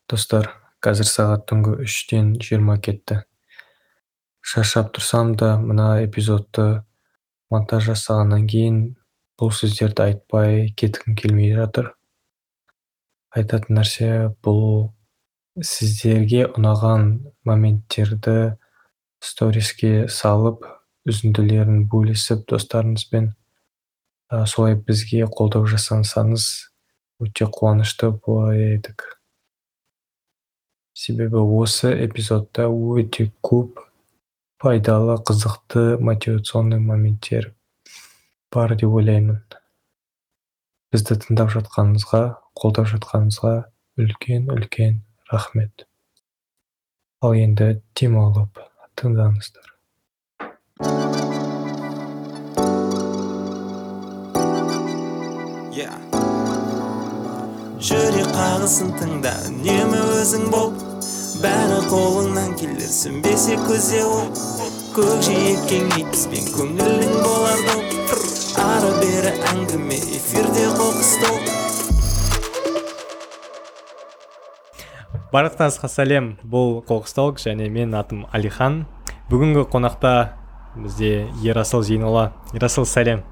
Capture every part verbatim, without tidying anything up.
Достар, қазір сағат түнгі үштен жиырма кетті. Шаршап тұрсам да, мына эпизодты монтаж жасағаннан кейін бұл сөздерді айтпай кеткім келмей жатыр. Айтатын нәрсе бұл сіздерге ұнаған моменттерді сториске салып, үзінділерін бөлісіп достарыңызбен ә, солай бізге қолдау жасансаңыз өте қуанышты болар едік. Себебі осы эпизодта өте көп пайдалы, қызықты, мотивационный моменттер бар деп ойлаймын. Бізді тыңдап жатқаныңызға, қолдап жатқаныңызға үлкен-үлкен рахмет. Ал енді демалып тыңдаңыздар. Yeah. Жүрек қағысын тыңда, үнемі өзің бол. Бәрі қолыңнан келер, сөнбесе көзе ол. Көкжиекке бізбен көңілің болар доп. Ары бері әңгіме, эфирде қоқыстол. Барлықтарыңызға сәлем, бұл Қоқыстолк және мен атым Алихан. Бүгінгі қонақта бізде Ерасыл Зейнолла. Ерасыл, сәлем.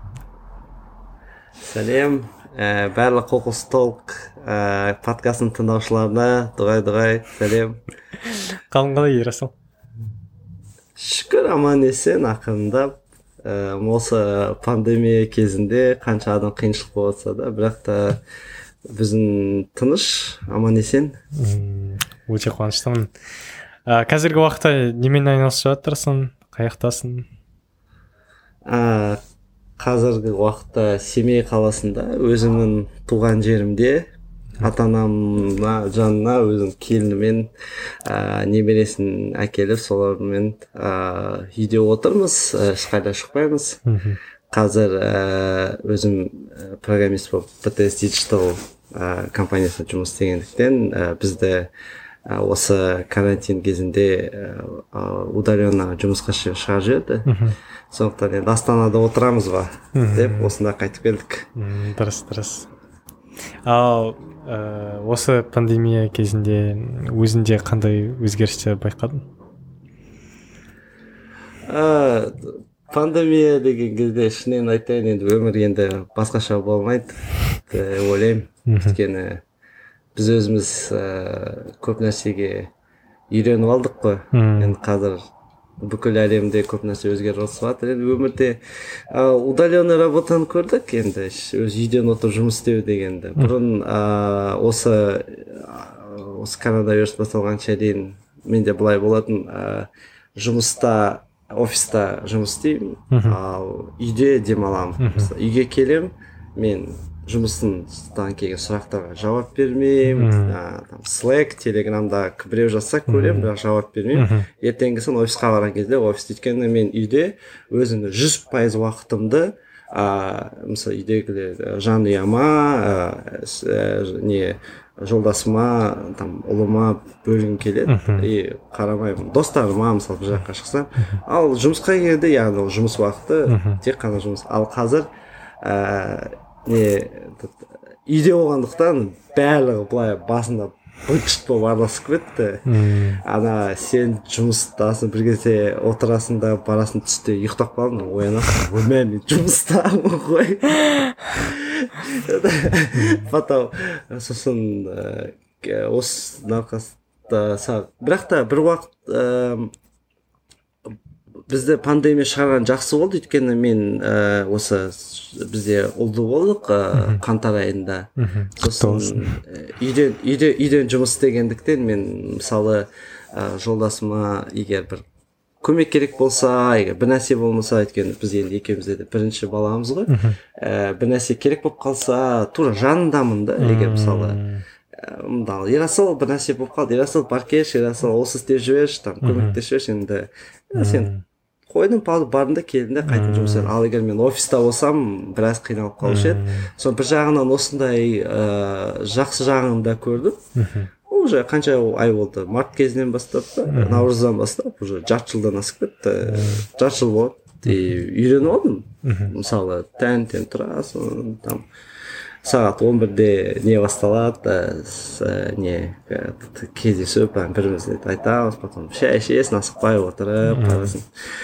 Сәлем, ә, барлық Қоқыстолк ә, подкастын тыңдаушыларына дұғай-дұғай сәлем. Қалың қалай, Ерасыл? Шүкір, аман есен, ақырындап. Ә, осы пандемия кезінде қанша адам қиыншылық болса да, бірақ та біздің тыныш, аман есен. Өте қуаныштымын. Ә, қазіргі уақытта немен айналысып жатырсың? Қаяқтасың? Ә, қазіргі уақытта Семей қаласында, өзімнің туған жерімде, ата-анамна жанына өзім келінімен ә, немересін әкеліп, солармен ә, үйде отырмыз, ешқайда шықпаймыз. Қазір ә, өзім программист болып би ти эс Digital ә, компаниясында жұмыс істегендіктен ә, бізді ә, осы карантин кезінде ә, удаленно жұмысқа шығарып жіберді. Сондықтан енді Астанада отырамыз ба деп осында қайтып келдік. Дұрыс, дұрыс. Ал ә, осы пандемия кезінде өзінде қандай өзгерістер байқадың? Ә, пандемия деген кезде шынымен айтайын, енді өмір енді басқаша болмайды деп ойлаймын. Өйткені біз өзіміз ә, көп нәрсеге үйреніп алдық қой. Енді қазір бүкіл әлемде көп нәрсе өзгеріп жатыр. Енді өмірде ә, удаленный работаны көрдік, енді өз үйден отырып жұмыс істеу дегенді. Бұрын ә, осы осы коронавирус басталғанша дейін менде былай болатын, ә, жұмыста, офиста жұмыс істеймін, ал үйде демаламын. Үйге келем, мен жұмыстан келген сұрақтарға жауап бермеймін. Там Slack, Telegramда біреу жазса көрем, бірақ жауап бермеймін. Ертеңгісін офисқа барған кезде офисте, өйткені мен үйде өзімді жүз пайыз уақытымды мысалы үйдегілер жанұяма, не жолдасыма, там ұлыма бөлгім келеді и қарамаймын. Достарыма мысалы бір жаққа шықсам, ал жұмысқа келгенде, яғни ол жұмыс уақыты тек қана жұмыс. Ал қазір не үйде болғандықтан барлығы былай басында быт-шыт болып араласып кетті. Ана сен жұмыстасың, бір кезде отырасың да барасың, түсте ұйықтап қалдың, оянасың, ой мен жұмыстамын ғой. Потом сосын осы науқаста, бірақ та бір уақыт бізді пандемия шығарған жақсы болды, өйткені мен ә, осы бізде ұлды болдық ә, қаңтар айында. Сосын үйден, үйде, үйден жұмыс істегендіктен мен мысалы ә, жолдасыма егер бір көмек керек болса, егер бір нәрсе болмаса, өйткені біз енді екеумізде де бірінші баламыз ғой, ә, бір нәрсе керек болып қалса, тура жанындамын да, егер мысалы мындағы Ерасыл бір нәрсе болып қалды, Ерасыл бар кеш, Ерасыл осы істеп жіберші, там көмектесіп жіберші, енді сен қойдым, бардың да келдің де қайтып жұмыс істедің. Ал егер мен офиста болсам, біраз қиналып қалушы еді. Соны бір жағынан осындай ә, жақсы жағын да көрдім. Ол уже қанша ай болды, март кезінен бастап та, наурыздан бастап, уже жарты жылдан асып кетті, жарты жыл болды. И үйреніп алдым. Мысалы таңертең тұрасың, там сағат он бірде не басталады, не кездесіп бірімізді айтамыз, потом шай ішесің, асықпай отырып қарасын.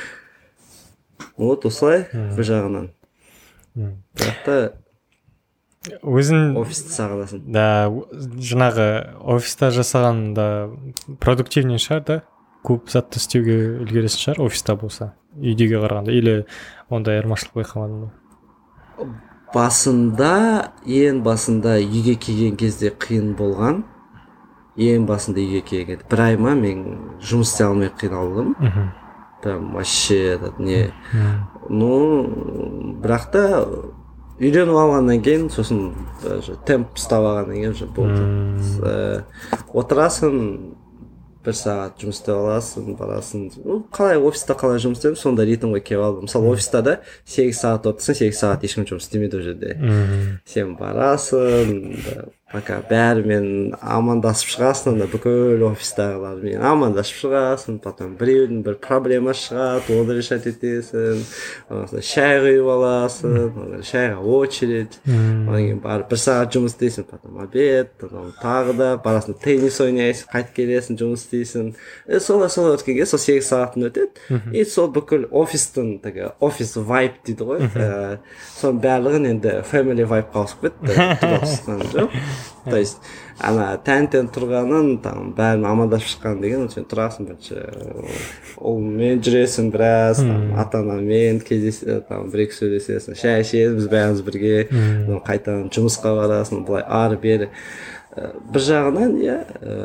Вот осылай бір жағынан. Бірақ та өзің офисті сағынасың. да жаңағы офиста жасаған да продуктивнее шығар да, көп затты істеуге үлгересің шығар офиста болса, үйдеге қарағанда, или ондай айырмашылық байқамадың ба? Басында, ең басында үйге келген кезде қиын болған. Ең басында үйге келген бір ай ма мен жұмыс істей алмай қиналдым. Прям вообще не. Ну, бірақ та үйреніп алғаннан кейін, сосын темп ұстап алғаннан кейін уже болды. Отырасың, бір сағат жұмыс істеп аласың, барасың. Ну, қалай офиста қалай жұмыс істеймін, сонда ритмге келіп алдым. Мысалы офиста да сегіз сағат отырсың, сегіз сағат ешкім жұмыс істемейді ол жерде. Сен барасың, пока бәрімен амандасып шығасың, да бүкіл офистағылармен амандасып шығасың, потом біреудің бір проблема шығады, оны решать етесің, шай құйып аласың, шайға очередь, одан кейін барып бір сағат жұмыс істейсің, потом обед, тағы да барасың теннис ойнайсың, қайтып келесің, жұмыс істейсің. Солай солай өткенге сол сегіз сағатын өтеді, и сол бүкіл офистің офис вайп дейді ғой, соның барлығын енді family вайпқа ауысып кетті, жоқ. То есть ана тән-тән тұрғанын, там бәрін амандасып шыққан деген, сен тұрасың бірінші ұлмен жүресің біраз, ата-анамен кездесесің, там бір-екі сөйлесесің, шай ішесің, біз бәріміз бірге, қайтадан жұмысқа барасың, былай ары бері. Бір жағынан, иә.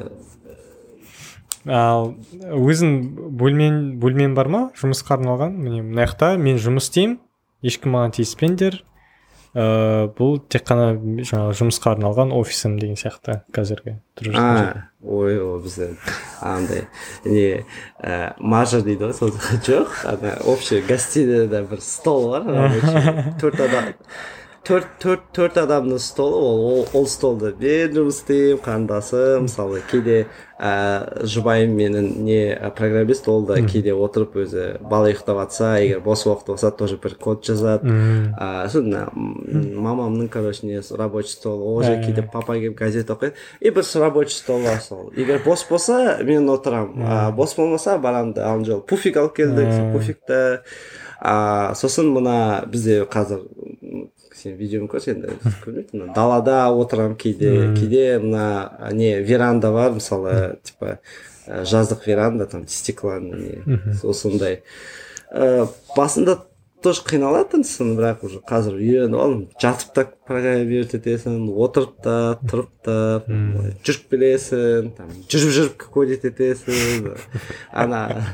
Ал өзің бөлмен бөлмен бар ма жұмысқа арналған? Міне мына жақта мен жұмыс істеймін, ешкім маған тиіспеңдер. Uh, бұл тек қана жаңағы жұмысқа арналған офисім деген сияқты қазіргі тұрып жатқан. Ой, о бізде андай не мажор дейді ғой, сол жоқ, ана общий гостиныйда бір стол бар, төрт адам төрт төрт төрт адамның столы, ол ол столда мен жұмыс істеймін, қарындасым, мысалы кейде жұбайым менің не программист, ол да кейде отырып өзі бала ұйықтап жатса, егер бос уақыт болса тоже бір код жазады. Сосын мамамның короче не рабочий стол, ол же кейде папа келіп газет оқиды, и бір рабочий стол бар сол. Егер бос болса мен отырамын, бос болмаса барамын да, ана жолы пуфик алып келдік, пуфикті. Сосын мына бізде қазір сен видеоны көрсең көрмейді, далада отырам кейде, кейде мына не веранда бар, мысалы типа жаздық веранда, там стеклоны не, сондай. Басында тоже қиналатынсың, бірақ уже қазір үйреніп алдым, жатып та программировать етесің, отырып та, тұрып та, жүріп білесің, жүріп-жүріп кодить етесің. Ана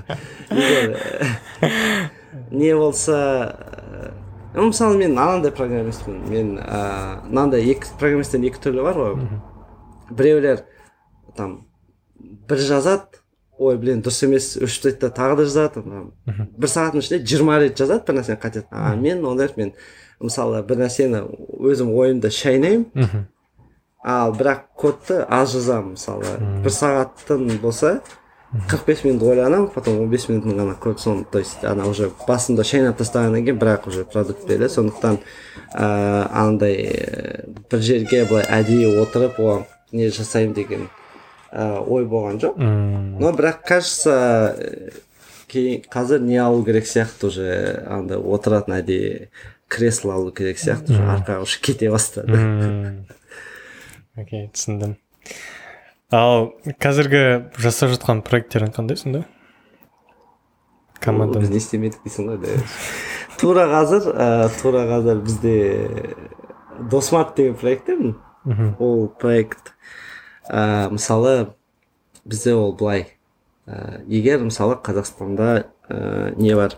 не болса, мысалы мен анандай программистпін, мен мынандай екі программисттен екі түрлі бар ғой. Біреулер там бір жазады, ой блин дұрыс емес, өшіп тастайды, тағы да жазады, бір сағаттың ішінде жиырма рет жазады бір нәрсені қайтеді. А мен ондай, мен мысалы бір нәрсені өзім ойымда шайнаймын, ал бірақ кодты аз жазамын. Мысалы бір сағаттың болса қырық бес минут ойланамын, потом он бес минутын ғана код, соны, то есть ана уже басында шайнап тастағаннан кейін бірақ уже продукт береді. Сондықтан андай бір жерге былай әдейі отырып оған не жасаймын деген ой болған жоқ. Но бірақ кажется қазір не алу керек сияқты, уже андай отыратын әдейі кресло алу керек сияқты, уже арқаға уже кете бастады. Окей, түсіндім. Ал қазіргі жасап жатқан проекттерің қандай сонда? Команда біз не істемедік дейсің ғой, да. Тура қазір, тура қазір бізде Досмарт деген проекттер, ол проект мысалы бізде ол былай, егер мысалы Қазақстанда не бар,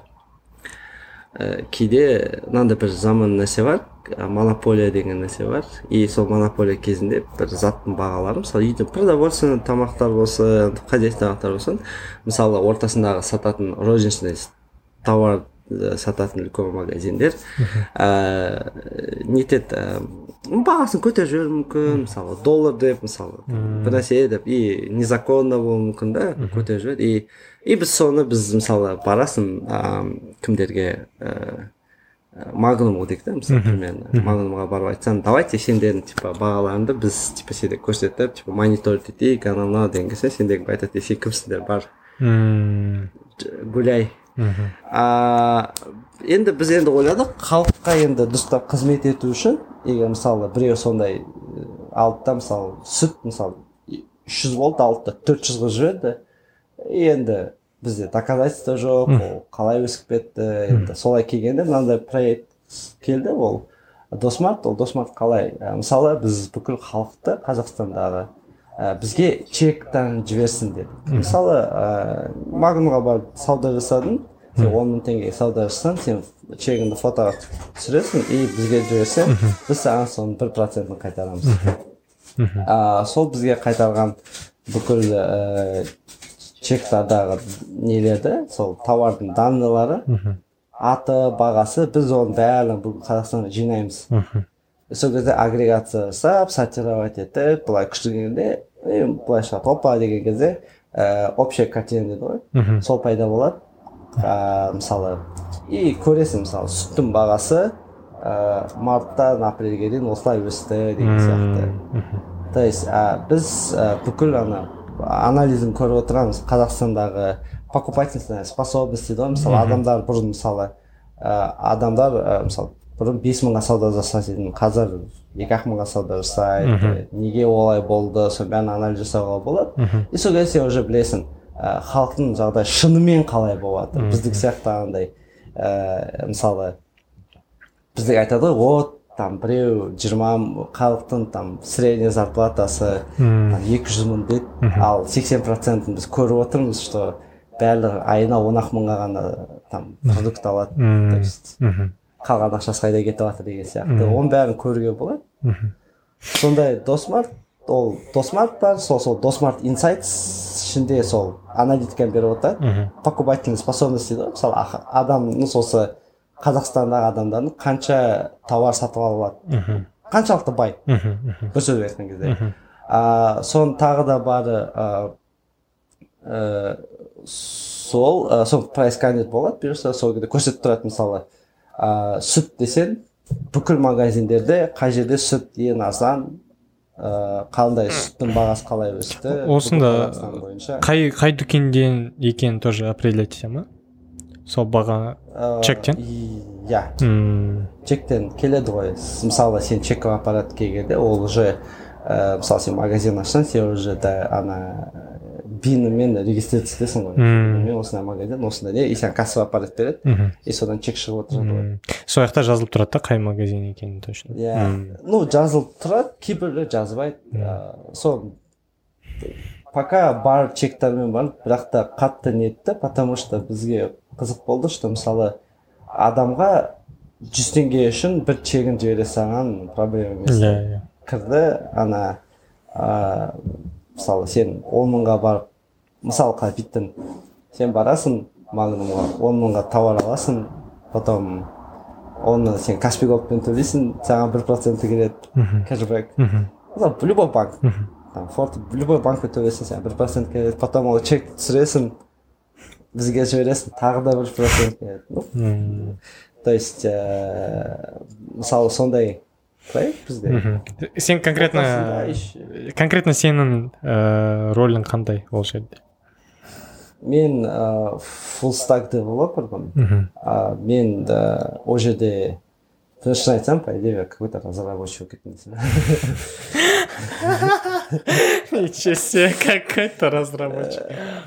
кейде мынандай бір заман нәрсе бар, монополия деген нәрсе бар, и сол монополия кезінде бір заттың бағалары, мысалы үйде продовольственный тамақтар болсын, хозяйственный тамақтар болсын, мысалы ортасындағы сататын розничный товар сататын үлкен магазиндер нетеді, бағасын көтеріп жіберуі мүмкін, мысалы доллар деп, мысалы бір нәрсе деп, и незаконно болуы мүмкін да, көтеріп жібереді. И біз соны, біз мысалы барасың кімдерге, магнумға дейік та мысалы примерно магнумға барып айтсам давайте сендердің типа бағаларыңды біз типа сендер көрсетіп типа мониторить етейік анау мынау деген кезде сендер айтады сен кімсіңдер бар гуляй. А енді біз енді ойладық халыққа енді дұрыстап қызмет ету үшін егер мысалы біреу сондай алды да мысалы сүт мысалы үш жүз болды алды да төрт жүз қылып жіберді енді бізде доказательство жоқ ол қалай өсіп кетті енді солай келгенде мынандай проект келді ол досмарт ол досмарт қалай мысалы біз бүкіл халықты қазақстандағы бізге чектан жіберсін дедік мысалы магнумға барып сауда жасадың сен он мың теңгеге сауда жасасаң сен чегіңді фотоға түсіресің и бізге жіберсең біз саған соның бір процентін қайтарамыз. Сол бізге қайтарған бүкіл чектардағы нелерді сол тауардың данныйлары аты бағасы біз оның бәрін бүгін қазақстанға жинаймыз. Сол кезде агрегация жасап сортировать етіп былай күштігенде былай шығады опа деген кезде общая картина дейді ғой сол пайда болады. Мысалы и көресің мысалы сүттің бағасы марттан апрельге дейін осылай өсті деген сияқты. То есть біз бүкіл ана анализін көріп отырамыз қазақстандағы покупательная способность дейді ғой мысалы адамдар бұрын мысалы адамдар мысалы бұрын бес мыңға сауда жасайтын қазір екі ақ мыңға сауда жасайды неге олай болды соның бәрін анализ жасауға болады и сол кезде сен уже білесің халықтың жағдайы шынымен қалай болады біздік сияқты андай мысалы бізде айтады ғой вот там біреу жиырма халықтың там средний зарплатасы екі жүз мың дейді ал сексен процентін біз көріп отырмыз что барлығы айына он ақ мыңға ғана там продукт алады то есть қалған ақшасы қайда кетіп жатыр деген сияқты оның бәрін көруге болады. Сондай досмарт ол досмарт бар сол сол досмарт инсайтс ішінде сол аналитиканы беріп отырады покупательная способность дейді ғой мысалы адамның осы қазақстандағы адамдардың қанша тауар сатып алады қаншалықты бай бір сөзбен айтқан кезде соның тағы да бары сол сол прайс кандидат болады бұйырса сол кезде көрсетіп тұрады мысалы сүт десең бүкіл магазиндерде қай жерде сүт ең арзан қандай сүттің бағасы қалай өсті осында қай қай дүкенден екенін тоже определять ете ма сол баға чектен иә чектен келеді ғой мысалы сен чекке аппарат келгенде ол уже мысалы сен магазин ашсаң сен уже да ана бинмен регистрация етесің ғой мен осындай магазин осындай не и саған кассовый аппарат береді и содан чек шығып отырады ғой сол жақта жазылып тұрады да қай магазин екенін точно иә ну жазылып тұрады кейбіреулер жазбайды сол пока бар чектармен бар бірақ та қатты нетті потому что бізге қызық болды что мысалы адамға жүз теңге үшін бір чегін жібере салған проблема емес кірді ана мысалы сен он мыңға барып мысалы қалай биттің сен барасың магнумға он мыңға тауар аласың потом оны сен каспи голдпен төлейсің саған бір проценті келеді кэшбэк мысалы любой банк там форт любой банкпен төлейсің саған бір процент келеді потом ол чекті түсіресің бізге жібересің тағы да бір процент келеді то есть мысалы сондай проект бізде сен конкретно конкретно сенің ролің қандай ол жерде мен full stack девелопермін мен ол жерде шын айтсам по идее какой-то разработчик болып кеттім ничего себе какой-то разработчик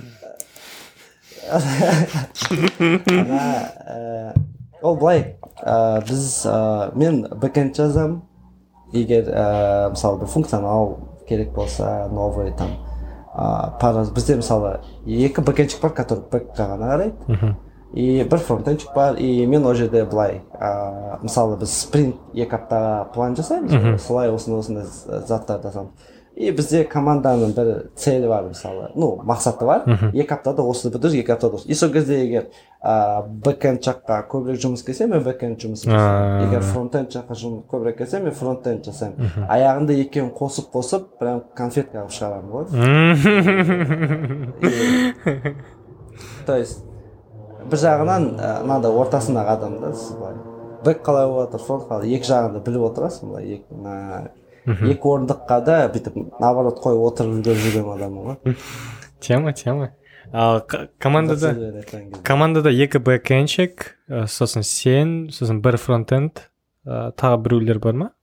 ол былай біз мен бэкэнд жазамын егер мысалы бір функционал керек болса новый там бізде мысалы екі бэкэндчик бар который бэкқа ғана қарайды и бір фронтенчик бар и мен ол жерде былай мысалы біз спринт екі аптаға план жасаймыз солай осындай осындай заттарды жасаймыз и бізде команданың бір целі бар мысалы ну мақсаты бар екі аптада осыны бітіріп екі аптада осы и сол кезде егер бэкэнд жаққа көбірек жұмыс келсе мен бэкэнд жұмыс жасаймын егер фронтенд жаққа көбірек келсе мен фронтенд жасаймын аяғында екеуін қосып қосып прям конфетка алып шығарамын ғой то есть бір жағынан мынандай ортасындағы адамды былай бэк қалай болып жатыр фронт қалай, екі жағында біліп отырасың былай екі на екі орындыққа да бүйтіп наоборот қойып отырып жүрген адаммын ғой. Тема, тема. Ал командада командада екі бэкэндшік, сосын сен, сосын бір фронтенд, тағы біреулер бар ма?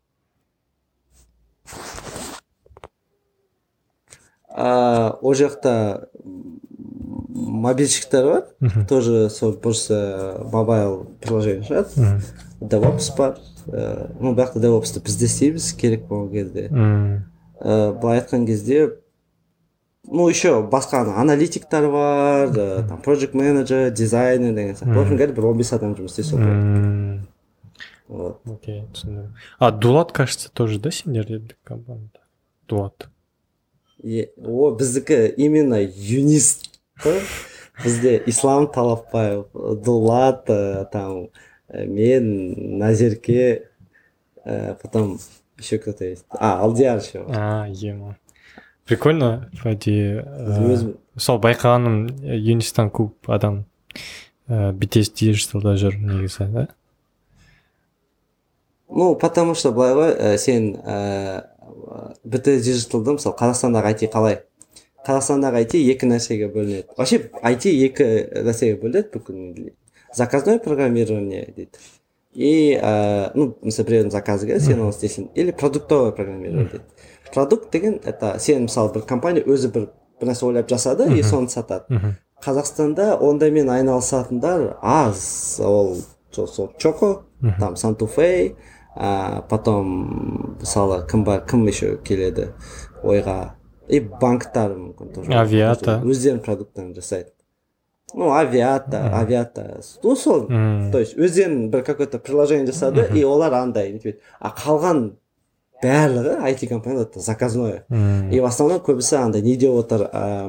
Ол жақта мобильщиктер бар, тоже сол просто мобайл приложение шығады. DevOps бар. Ну, бірақ та DevOps'ты бізде істейміз керек болған кезде. Былай айтқан кезде, ну, еще басқа аналитиктар бар, там, project manager, дизайнер деген сияқты. В общем, говоря, бір он бес адам жұмыс істейді. Вот. Окей, түсіндім. А Дулат, кажется, тоже, да, сендерде команда? Дулат. О, біздікі именно юнист. Бізде Ислам Талапбаев, Дулат, там, мен, Назерке, потом еще кто-то есть. А, Алдияр еще. А, ема. Прикольно, вроде. Сол байқағаным юнистан көп адам би ти эс Digital'да жүр негізі, да? Ну, потому что былай ғой, сен би ти эс Digital'да, мысалы, Қазақстандағы ай ти қалай? Қазақстандағы ай ти екі нәрсеге бөлінеді. Вообще, ай ти екі нәрсеге бөлінеді бүкіл. Заказное программирование дейді. И, ну, мысалы, біреудің заказы келеді, сен оны істейсің. Или продуктовое программирование дейді. Продукт деген, это сен, мысалы, бір компания өзі бір нәрсе ойлап жасады, и соны сатады. Қазақстанда ондаймен айналысатындар аз. Ол Чоко, там, Сантуфей, потом, мысалы, кім бар, кім еще келеді ойға. И банктар мүмкін тоже. Авиата. Өздерінің продукттарын жасайды. Ну, авиата, авиата. Ну, сол, то есть, өздерінің бір какой-то приложение жасады, и олар андай, а қалған барлығы ай ти компаниялар заказное. И в основном көбісі андай не деп отыр,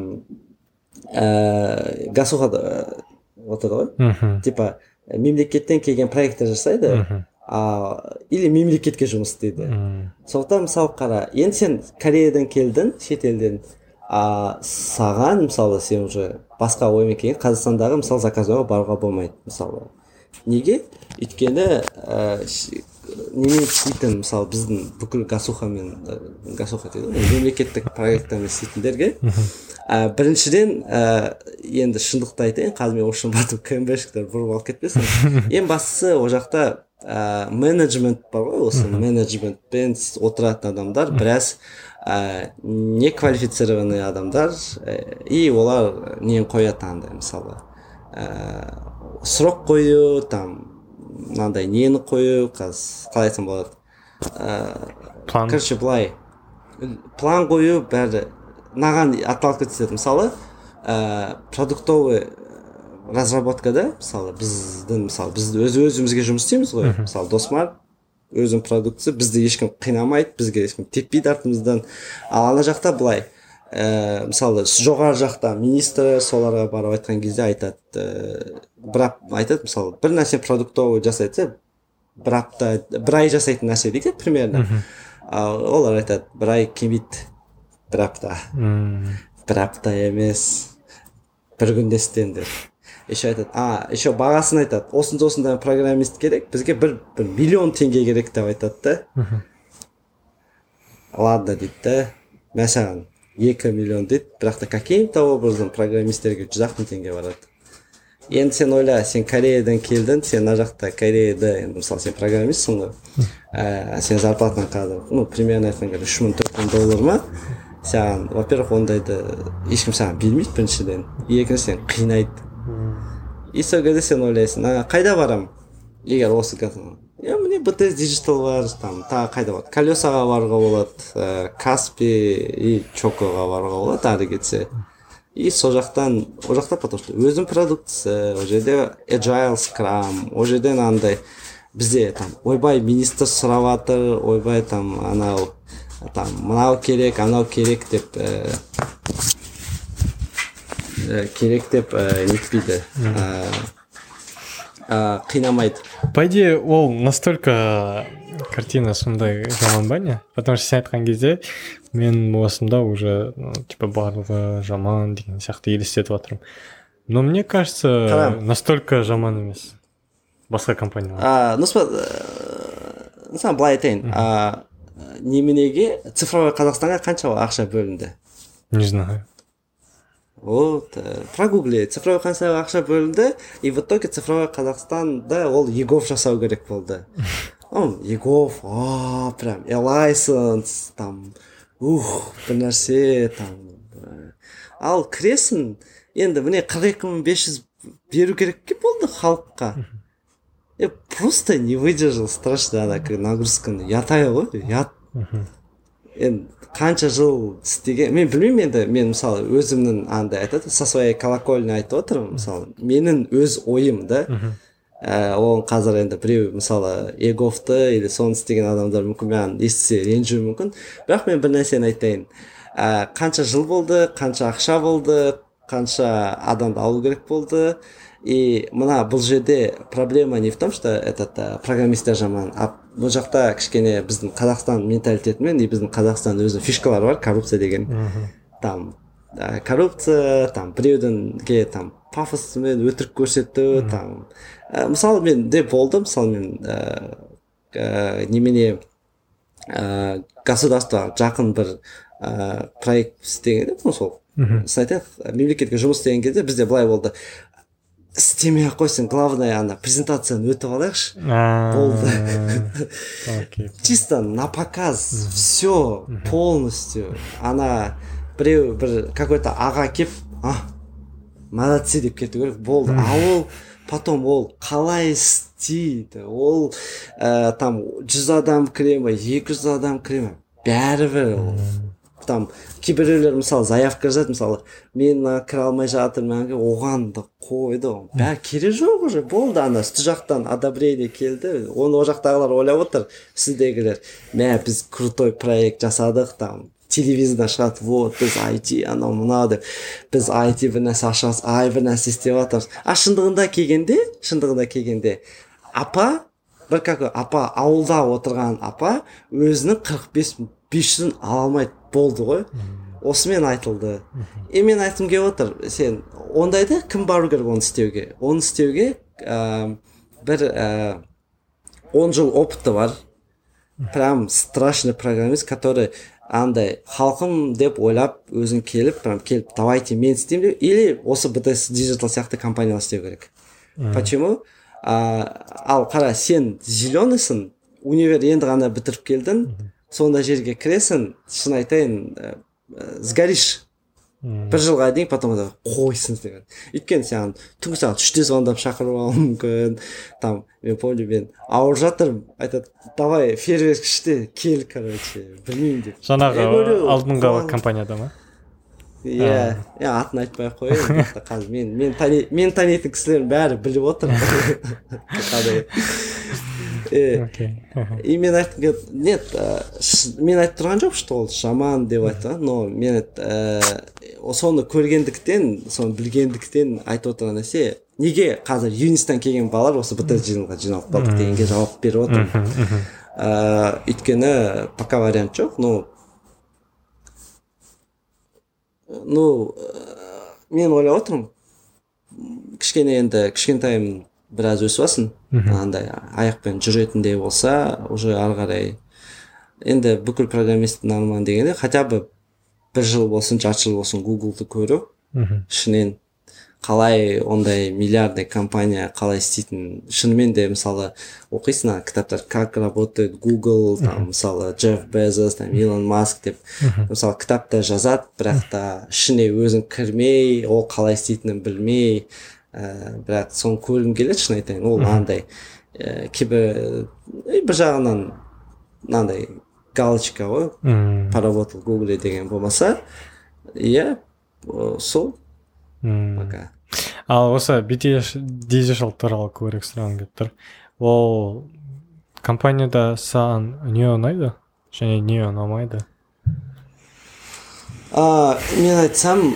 гасуға отыр ғой. Типа, мемлекеттен келген проекттер жасайды, или мемлекетке жұмыс істейді. Сондықтан мысалы қара, енді сен Кореядан келдің, шетелден, саған мысалы сен уже басқа оймен келген Қазақстандағы мысалы заказуға баруға болмайды мысалы. Неге? Өйткені немен істейтін мысалы біздің бүкіл гасухамен гасуха дейді ғой, мемлекеттік проекттермен істейтіндерге біріншіден енді шындықты айтайын, қазір мен үшін батып кэмбэшіктер бұрып алып кетпесін. Ең бастысы ол жақта менеджмент бар ғой, осы менеджментпен отыратын адамдар біраз неквалифицированный адамдар, и олар нені қояды андай мысалы срок қою, там мынандай нені қою, қалай айтсам болады, план, короче былай план қою бәрі мынаған аталып кетеді. Мысалы продуктовый разработкада мысалы біздің мысалы біз өз өзімізге жұмыс істейміз ғой, мысалы Досмар өзінің продуктысы, бізді ешкім қинамайды, бізге ешкім теппейді артымыздан. Ал ана жақта былай, мысалы жоғары жақта министр соларға барып айтқан кезде айтады, бірақ айтады, мысалы бір нәрсе продуктовый жасайды, бір апта, бір ай жасайтын нәрсе дейді примерно. Олар айтады, бір ай келмейді, бір апта, бір апта емес, бір күнде істеңдер. Еще айтады, а, еще бағасын айтады, осындай осындай программист керек, бізге бір, бір миллион теңге керек деп айтады да. Ладно дейді да, мәсаған екі миллион дейді, бірақ та каким-то образом программисттерге жүз ақ мың теңге барады. Енді сен ойла, сен Кореядан келдің, сен ана жақта Кореяда, мысалы сен программистсің ғой, сен зарплатаң қазір, ну, примерно айтқан кезде үш мың төрт мың доллар ма, саған, во-первых, ондайды ешкім саған бермейді біріншіден, екіншіден қинайды. И сол кезде сен ойлайсың, қайда барам? Егер осы қазір, е, міне би ти эс Digital бар, там, тағы қайда болады? Колесаға баруға болады, Каспи и Чокоға баруға болады, ары кетсе. И сол жақтан, ол жақта, потому что өзім продуктысы, ол жерде Agile, Scrum, ол жерден андай, бізде там, ойбай, министр сұрап жатыр, ойбай, там, анау, там, мынау керек, анау керек деп, керек деп нетпейді, қинамайды. По идее, ол настолько картина сондай жаман ба не? Потому что сен айтқан кезде мен осында уже, ну, типа, барлығы жаман деген сияқты елестетіп жатырмын. Но мне кажется, настолько жаман емес. басқа компаниялар? а ну мысалы былай айтайын, а неменеге цифровой Қазақстанға қанша ақша бөлінді? Не знаю. Вот, прогугли, цифровой Қазақстанға ақша бөлінді, и в итоге цифровой Қазақстанда ол Егов жасау керек болды. Ол Егов, а прям элайсенс, там, ух, бір нәрсе, там. Ал кіресің, енді міне қырық екі мың бес жүз беру керек ке болды халыққа. Я просто не выдержал, страшно ана нагрузканы, ятая ғой, ят. Енді қанша жыл істеген, мен білмеймін енді, мен мысалы өзімнің андай айтады, со своей колокольни айтып отырмын, мысалы, менің өз ойым да, оған қазір енді біреу мысалы Еговты или соны істеген адамдар мүмкін маған естісе ренжуі мүмкін, бірақ мен бір нәрсені айтайын, қанша жыл болды, қанша ақша болды, қанша адамды алу керек болды, и мына бұл жерде проблема не в том, что этот программистер жаман, а бұл жақта кішкене біздің Қазақстан менталитетімен и біздің Қазақстан өзінің фишкалары бар, коррупция деген. Там коррупция, там біреудіңге там пафосымен өтірік көрсету, там мысалы мен де болды, мысалы мен немене государство жақын бір проект істеген, сол айтайық, мемлекетке жұмыс істеген кезде бізде былай болды, істемей ақ қойсын, главное ана презентацияны өтіп алайықшы, болды. Чисто на показ все полностью. Ана біреу бір какой-то аға кеп, а молодцы деп кету керек, болды. А ол потом ол қалай істейді, ол там жүз адам кіре ме, екі жүз адам кіре ме, бәрібір ол. Там кейбіреулер мысалы заявка жазады, мысалы мен кіре алмай жатырмын, оған да қойды, бәрі керек жоқ уже, болды. Ана үсті жақтан одобрение келді, оны о жақтағылар ойлап отыр, сіздегілер, мә біз крутой проект жасадық, там телевизордан шығады, вот біз ай ти анау мынау деп, біз ай ти бір нәрсе ашамыз, ай бір нәрсе істеп жатырмыз. А шындығында келгенде, шындығында келгенде апа, бір какой апа, ауылда отырған апа өзінің қырық бес бес жүзін ала алмайды, болды ғой. Осымен айтылды. И мен айтқым келіп отыр, сен ондайда кім бару керек оны істеуге? Оны істеуге бір он жыл опыты бар. Прям страшный программист, который андай халқым деп ойлап өзін келіп, прям келіп, давайте мен істеймін деп, или осы би ти эс Digital сияқты компаниялар істеу керек. Почему? Ал қара, сен зеленыйсың, универ енді ғана бітіріп келдің, сонда жерге кіресің, шын айтайын, сгоришь. Бір жылға дейін, потом да қойсын деген. Өйткені саған түнгі сағат үште звондап шақырып алуы мүмкін. Там, мен помню, мен ауырып жатырмын, айтады, давай фейерверк іште кел, короче, білмеймін деп. Жаңағы алдыңғы компанияда ма? Иә, иә, атын айтпай ақ қояйын. Қазір мен мен тани мен танитын кісілердің бәрі біліп отыр. Қандай. И мен айтқым, нет, мен айтып тұрған жоқ, что ол жаман деп айтты, но мен соны көргендіктен, соны білгендіктен айтып отырған нәрсе, неге қазір юнистан келген балалар осы би ти эс жиналға жиналып қалдық дегенге жауап беріп отырмын. Өйткені пока вариант жоқ, но ну мен ойлап отырмын, кішкене енді кішкентайым біраз өсіп алсын, андай аяқпен жүретіндей болса, уже ары қарай енді бүкіл программисттің арманы дегенде хотя бы бір жыл болсын, жарты жыл болсын Гуглды көру, шынымен қалай ондай миллиардный компания қалай істейтін, шынымен де мысалы оқисың кітаптар, как работает Google, там мысалы Джефф Безос, там Илон Маск деп, мысалы кітапта жазады, бірақ та ішіне өзің кірмей, ол қалай істейтінін білмей, бірақ соны көргім келеді, шын айтайын, ол андай кейбір бір жағынан мынандай галочка ғой, поработал в Гугле деген болмаса, иә, сол пока. Ал осы би ти эс Digital туралы көбірек сұрағым келіп тұр. Ол компанияда саған не ұнайды және не ұнамайды? Мен айтсам,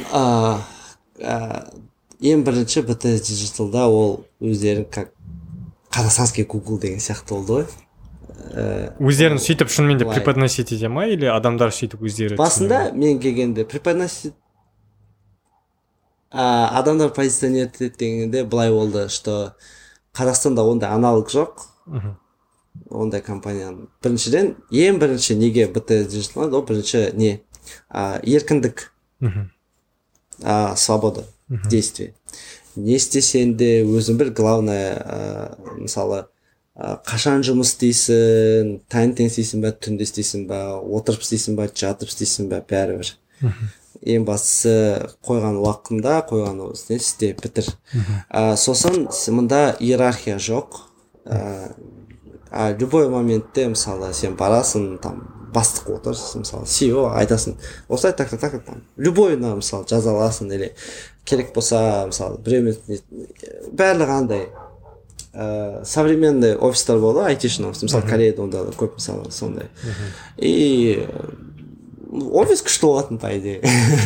ең бірінші би ти эс Digital'да ол өздерін как қазақстанский Google деген сияқты болды ғой. Өздерін сөйтіп шынымен де преподносить ете ма, или адамдар сөйтіп өздері? Басында мен келгенде преподносить адамдар позиционировать дегенде былай болды, что Қазақстанда ондай аналог жоқ. Ондай компанияның. Біріншіден, ең бірінші неге би ти Digital, ол бірінші не? А, еркіндік. А, свобода действия. Не істесең де өзің бір главное, а, мысалы, а, қашан жұмыс істейсің, таңертең істейсің ба, түнде істейсің ба, отырып істейсің ба, жатып істейсің ба, бәрібір. Ең бастысы қойған уақытында, қойған осыны істе, бітір. А, сосын мында иерархия жоқ. А, а любой моментте, мысалы, сен барасың, там, бастық отырсың, мысалы, си и о айтасың, осылай так так так там любойына мысалы жаза аласың, или керек болса мысалы біреумен барлығы андай ә, современный офистар болды, айтишный офис, мысалы Кореяда онда көп мысалы сондай. И офис күшті болатын, по идее.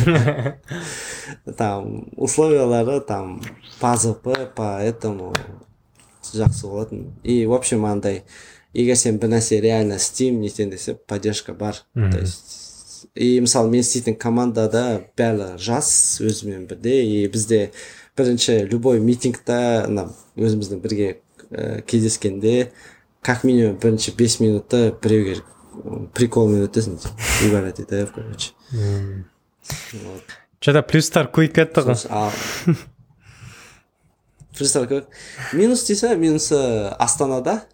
Там условиялары там по ЗП, поэтому жақсы болатын. И в общем андай егер сен бір нәрсе реально істеймін нетен десе, поддержка бар. То есть, и мысалы мен істейтін командада бәрі жас өзімен бірде, и бізде бірінші любой митингта өзіміздің бірге ә, кездескенде как минимум бірінші бес минутта біреуге приколмен өтесің, угорать етіп, короче. Что-то плюстар көйіп кетті ғой. Плюстар көйіп. Минус дейсі, минусы Астанада.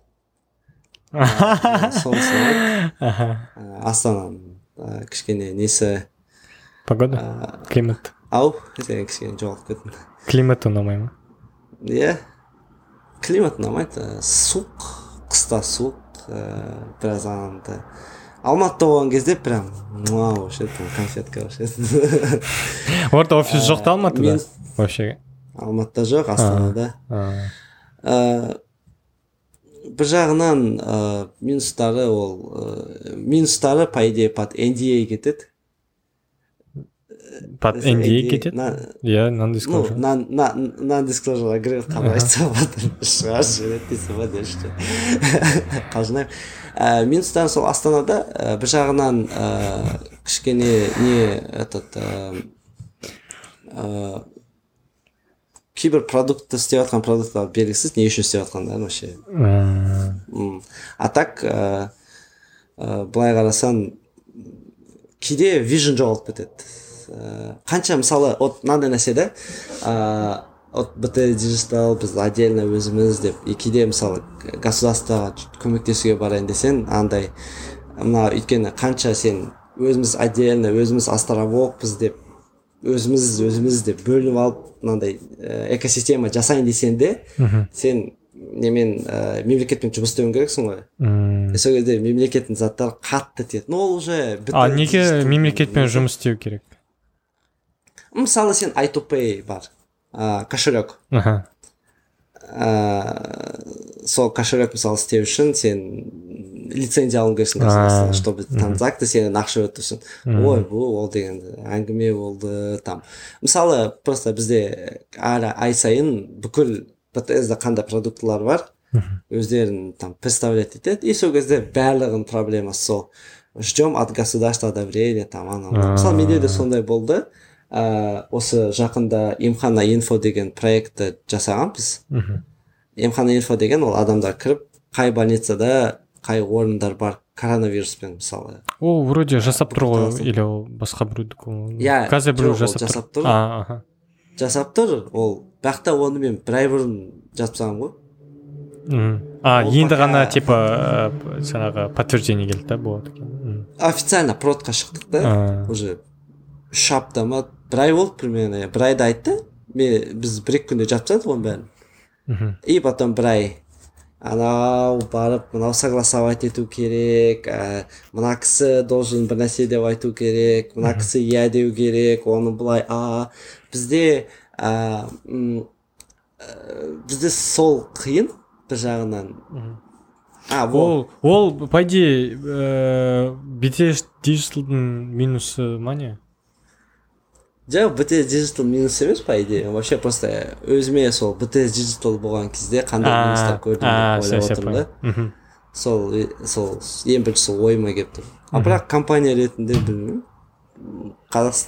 Сонысы Астана кішкене несі погода, климат. Ау, сен кішкене жоғалып кеттің. Климат ұнамай ма? Иә, климат ұнамайды. Суық, қыста суық, біраз анандай. Алматыда болған кезде прям муау, вообще конфетка вообще. Орда офис жоқ та Алматыда вообще? Алматыда жоқ, Астанада. Бір жағынан ә, минустары ол ә, минустары по идее под эн ди эй кетеді. Под эн ди эй кетеді? Иә, non-disclosure. Ну, non-disclosure agreement қалай айтса батыр шығар жібереді дейсің ба дешті. Қалжынайым. Минустары сол Астанада бір жағынан кішкене не этот кейбір продуктты істеп жатқан продукттар белгісіз, не үшін істеп жатқандарын вообще. А так былай қарасаң кейде вижн жоғалып кетеді. Қанша мысалы от мынандай нәрседе от би ти Digital біз отдельно өзіміз деп, и кейде мысалы государствоға көмектесуге барайын десең, андай мына өйткені қанша сен өзіміз отдельно, өзіміз островокпыз деп, өзіміз өзіміз деп бөлініп алып мынандай экосистема жасайын десең де, сен немен мемлекетпен жұмыс істеуің керексің ғой. Сол кезде мемлекеттің заттары қатты тиеді. Но ол уже А неге мемлекетпен жұмыс істеу керек? Мысалы сен ай ту пэй бар, кошелек. Сол кошелек мысалы істеу үшін сен лицензия алуың керексің государстводан, чтобы транзакция сенен ақша өтсін. Ой, бұл ол деген әңгіме болды там. Мысалы просто бізде әлі ай сайын бүкіл би ти эс-де қандай продуктылар бар, өздерін там представлять етеді, и сол кезде барлығын проблемасы сол. Ждем от государства одобрения там ана. Мысалы менде де сондай болды. Осы жақында емхана инфо деген проектті жасағанбыз. Емхана инфо деген ол адамдар кіріп, қай больницада қай орындар бар коронавируспен мысалы. О, вроде жасап тұр ғой, или ол басқа біреудікі? Иә, қазір біреу жасап тұр. Жасап тұр, ол бақта оны мен бір ай бұрын жасапсам ғой. А, енді ғана типа жаңағы подтверждение келді да, болады екен. Официально продқа шықтық та, уже үш апта ма, бір ай болды примерно, бір айда айтты, біз бір-екі күнде жапсадық оның бәрін. И потом бір ай анау барып, мынау согласовать ету керек, мына кісі должен бір нәрсе деп айту керек, мына кісі иә деу керек, оны былай, а бізде бізде сол қиын бір жағынан. Ол, ол, по идее, би ти эс Digital'дың минусы ма не? Жоқ, би ти эс Digital минус емес, по идее. Вообще просто өзіме сол би ти эс Digital болған кезде қандай минустар көрдім деп ойлап отырмын да. Сол, сол, ең бірінші сол ойыма келіп тұр. А бірақ компания ретінде білмеймін.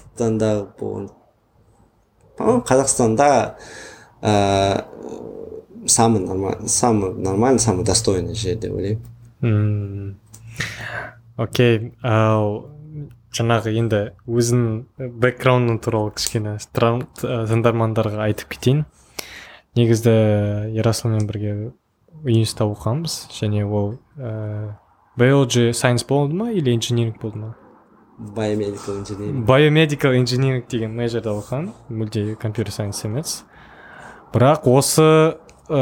Қазақстанда болған. Қазақстанда самый нормальный самый нормальный самый достойный жер деп ойлаймын. Мм. Окей, ал жаңағы енді өзінің бэкграундың туралы кішкене тран- т- тыңдармандарға айтып кетейін. Негізді Ерасылмен бірге университетте оқығанбыз, және ол ә, biology science болды ма или engineering болды ма? Biomedical engineering. Biomedical engineering деген мейджорда оқыған, мүлде computer science емес. Бірақ осы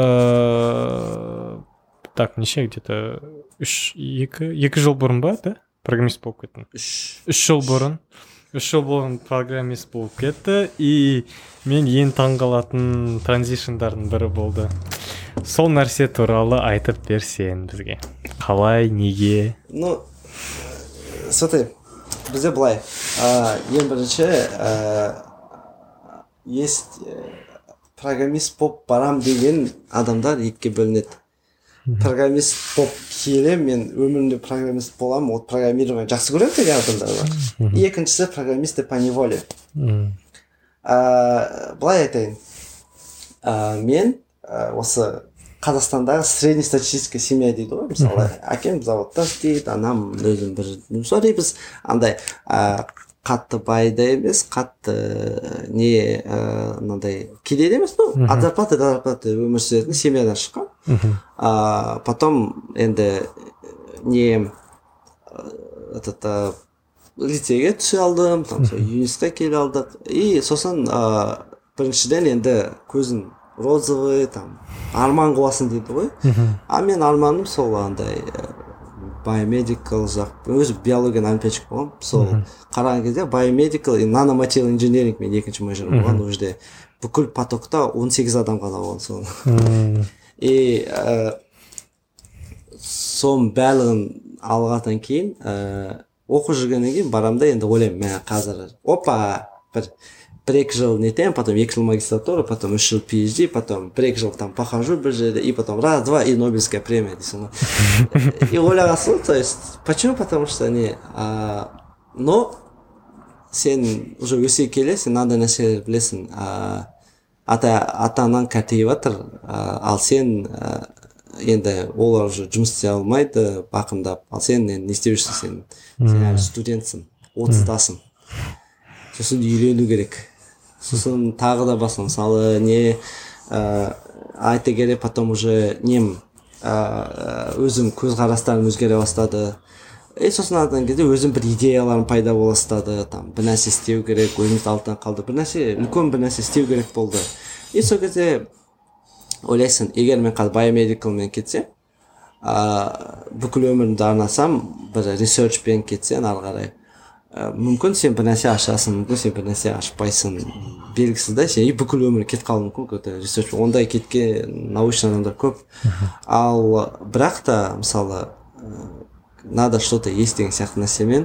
ә, так неше где-то үш екі екі жыл бұрын ба, да? Программист болып кеттім. Үш. Үш жыл бұрын. Үш жыл бұрын программист болып кетті, и мен ең таңғалатын транзишндардың бірі болды. Сол нәрсе туралы айтып берсең бізге. Қалай, неге? Ну, смотри, бізде былай. а, Ең бірінші а, есть э, программист болып барам деген адамдар екіге бөлінеді. Программист болып келем, мен өмірімде программист боламын, ол программирование жақсы көремін деген адамдар бар. Екіншісі программисты по неволе. Мм. А, былай айтайын. А, мен а, осы Қазақстандағы среднестатистическая семья дейді ғой. Мысалы, әкем заводта істейді, анам өзім бір жұмыс біз андай а, қатты бай да емес, қатты не мынандай кедей де емес, ну, от зарплаты до зарплаты өмір сүретін семьядан шыққан. А, потом енді не этот а, лицейге түсе алдым, там сол юнистқа келе алдық, и сосын а, біріншіден енді көзін розовый, там арман қуасың дейді ғой. А мен арманым сол андай biomedical жақ, өзі биологияның олимпиадчик болғанмын. Сол қараған кезде biomedical и nanomaterial engineering мен екінші мейджор болған. Ол жерде бүкіл потокта он сегіз адам ғана болған сол. И соның барлығын алғаннан кейін оқу жүргеннен кейін барамын да енді ойлаймын, мен қазір опа бір бір екі жыл нетем, потом екі жыл магистратура, потом үш жыл пи эйч ди, потом бір екі жыл там похожу бір жерде, и потом раз, два, и Нобелевская премия дейсің ғой. И ойлағансың, то есть, почему? Потому что не, а, но сен уже өсе келе, сен мынандай нәрселер білесің, а, ата ата анаң кәртейіп жатыр, ал сен а, енді олар уже жұмыс істей алмайды, бақымдап, ал сен енді не істеп жүрсің, сен сен әлі студентсің, отыздасың, сосын үйрену керек. Сосын тағы да басқа, мысалы не ә, айта келе, потом уже нем ә, өзім көзқарастарым өзгере бастады. И сосын адан кезде өзім бір идеяларым пайда бола бастады, там бір нәрсе істеу керек, өзіміз алтын қалды, бір нәрсе, үлкен бір нәрсе істеу керек болды. И сол кезде ойлайсың, егер мен қазір biomedicalмен кетсем, ә, бүкіл өмірімді арнасам, бір researchпен кетсең ары қарай, мүмкін сен бір нәрсе ашасың, мүмкін сен бір нәрсе ашпайсың, белгісіз да, сен бүкіл өмір кетіп қалуы мүмкін, ресерч ондай кеткен научный адамдар көп. Ал бірақ та мысалы надо что-то есть деген сияқты нәрсемен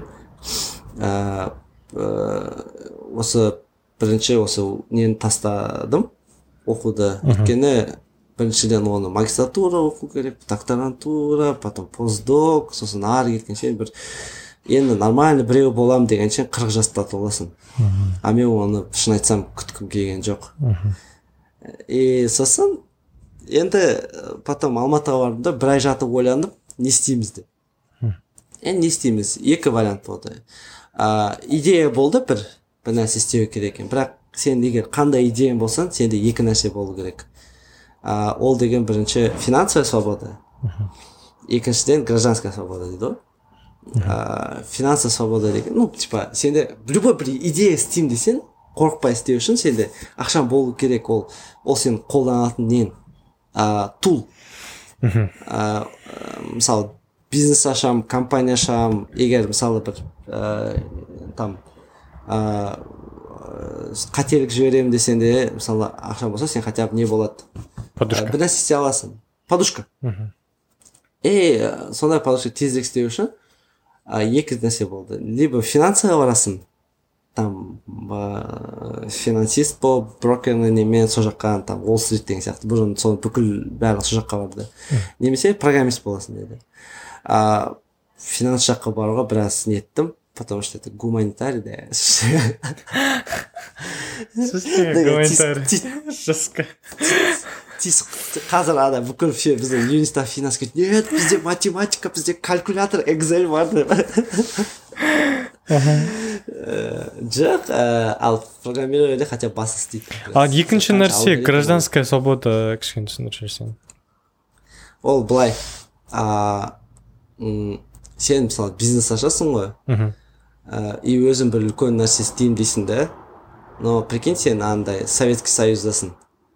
осы бірінші осы нені тастадым оқуды, өйткені біріншіден оны магистратура оқу керек, докторантура, потом постдок, сосын ары кеткенше бір енді нормальный біреу болам дегенше қырық жаста толасың. А мен оны шын айтсам күткім келген жоқ. И сосын енді потом Алматыға бардым да бір ай жатып ойландым, не істейміз деп. Енді не істейміз? Екі вариант болды. А, идея болды бір, бір нәрсе істеу керек екен. Бірақ сен егер қандай идеяң болсан, сенде екі нәрсе болу керек. А, ол деген бірінші финансовая свобода. Екіншіден гражданская свобода дейді ғой. Uh, финансовая свобода деген, ну, типа, сенде любой бір идея істеймін десең, қорықпай істеу үшін сенде ақшаң болу керек, ол ол сен қолданатын нен, uh, тул. Uh, мысалы, бизнес ашам, компания ашам, егер мысалы бір uh, там uh, қателік жіберемін десең де, мысалы, ақшаң болса, сен хотя бы не болады? Подушка. Uh, бір нәрсе істей аласың. Подушка. И сондай подушка тезірек істеу үшін А, екі нәрсе болды. Либо финансыға барасың, там ба, финансист болып, брокерный немен со жаққа, там Уолл-стрит деген сияқты, бұрын соны бүкіл барлығы со жаққа барды. Немесе программист боласың деді. А, финанс жаққа баруға біраз неттім, потому что это гуманитарий, да. Гуманитарий. Жестко. тиск қазір ана бүкіл все біздің университет финанс кетті нет бізде математика бізде калькулятор экзель бар деп жоқ ал программированиеде хотя бы басы істейді. А екінші нәрсе гражданская свобода кішкене түсіндіріп жіберсең. Ол былай а сен мысалы бизнес ашасың ғой и өзің бір үлкен нәрсе істеймін дейсің да, но прикинь сен андай Советский Союздасың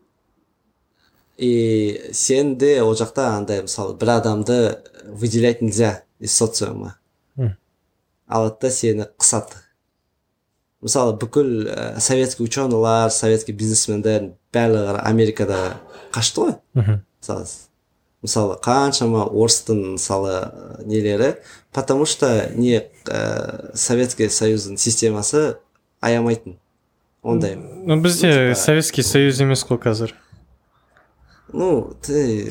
и сен де ол жақта андай мысалы бір адамды выделять нельзя из социума алады да сені қысады. Мысалы бүкіл ә, советский ученыйлар, советский бизнесмендер барлығы Америкада қашты ғой. Мысалы, мысалы қаншама орыстың мысалы нелері, потому что не ә, Советский Союздың системасы аямайтын. Ондай. Ну бізде Советский Союз емес қой қазір. Ну, ты...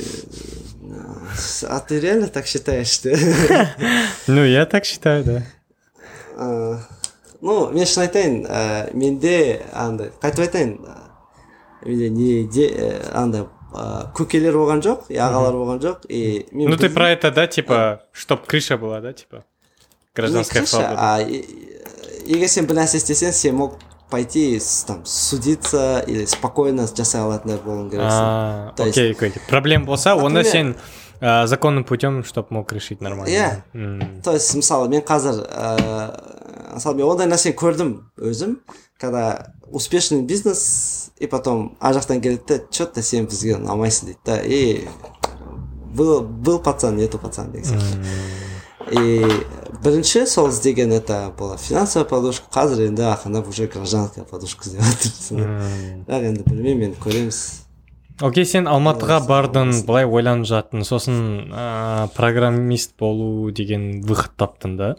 А ты реально так считаешь, что? Ну, я так считаю, да. Uh, ну, мен шын айтайын, uh, менде андай, қайтып айтайын, менде не де андай көкелер болған жоқ, и ағалар болған жоқ, и мен. Ну ты про это, да, типа, чтоб крыша была, да, типа, гражданская свобода. А егер сен бір нәрсе істесең, сен мог пойти там судиться или спокойно жасай алатындай болуың керексің. Окей, окей. Проблема болса, онда сен Uh, законным путем, чтобы мог решить нормально. Иә. Yeah. То есть, мысалы, мен қазір, ә, мысалы, мен ондай нәрсені көрдім өзім, когда успешный бизнес, и потом ар жақтан келеді де, что-то сен бізге ұнамайсың дейді да, и был, был пацан, нету пацан деген сияқты. И бірінші сол іздеген это была финансовая подушка, қазір енді ақырындап уже гражданская подушка іздеп жатырсың. Бірақ енді білмеймін, енді көреміз. Окей, сен Алматыға бардың, былай ойланып жаттың, сосын ә, программист болу деген выход таптың да?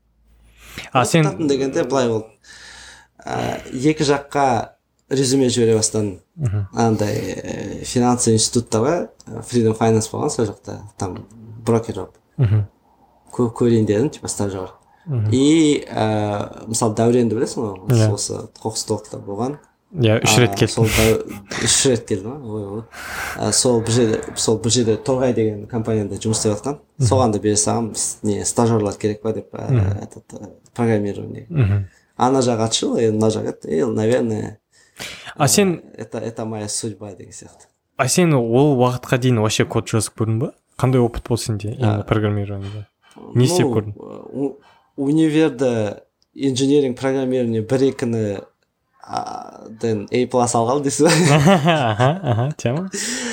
А сен... Таптың дегенде былай ол ә, екі жаққа резюме жібере бастадым. Андай финансовый институттарға, Freedom Finance болған сол жақта, там брокер болып көрейін дедім, типа стажер. И ә, мысалы Дәуренді білесің ғой, осы Қоқыстолықта болған. Я үш рет келдім. Үш рет келдім, ой-ой. Сол бір жерде, сол бір жерде Торғай деген компанияда жұмыс істеп жатқан. Соған да бере салғам, не стажерлар керек па деп, этот программирование. Ана жақ атшыл, мына жақ ет, и, наверное, а сен это это моя судьба деген сияқты. А сен ол уақытқа дейін вообще код жазып көрдің ба? Қандай опыт болды сенде именно программированиеде? Не істеп көрдің? Универде инженеринг программирование бір екіні ден A плюс алғалы дейсіз ба? Аха, аха, тема.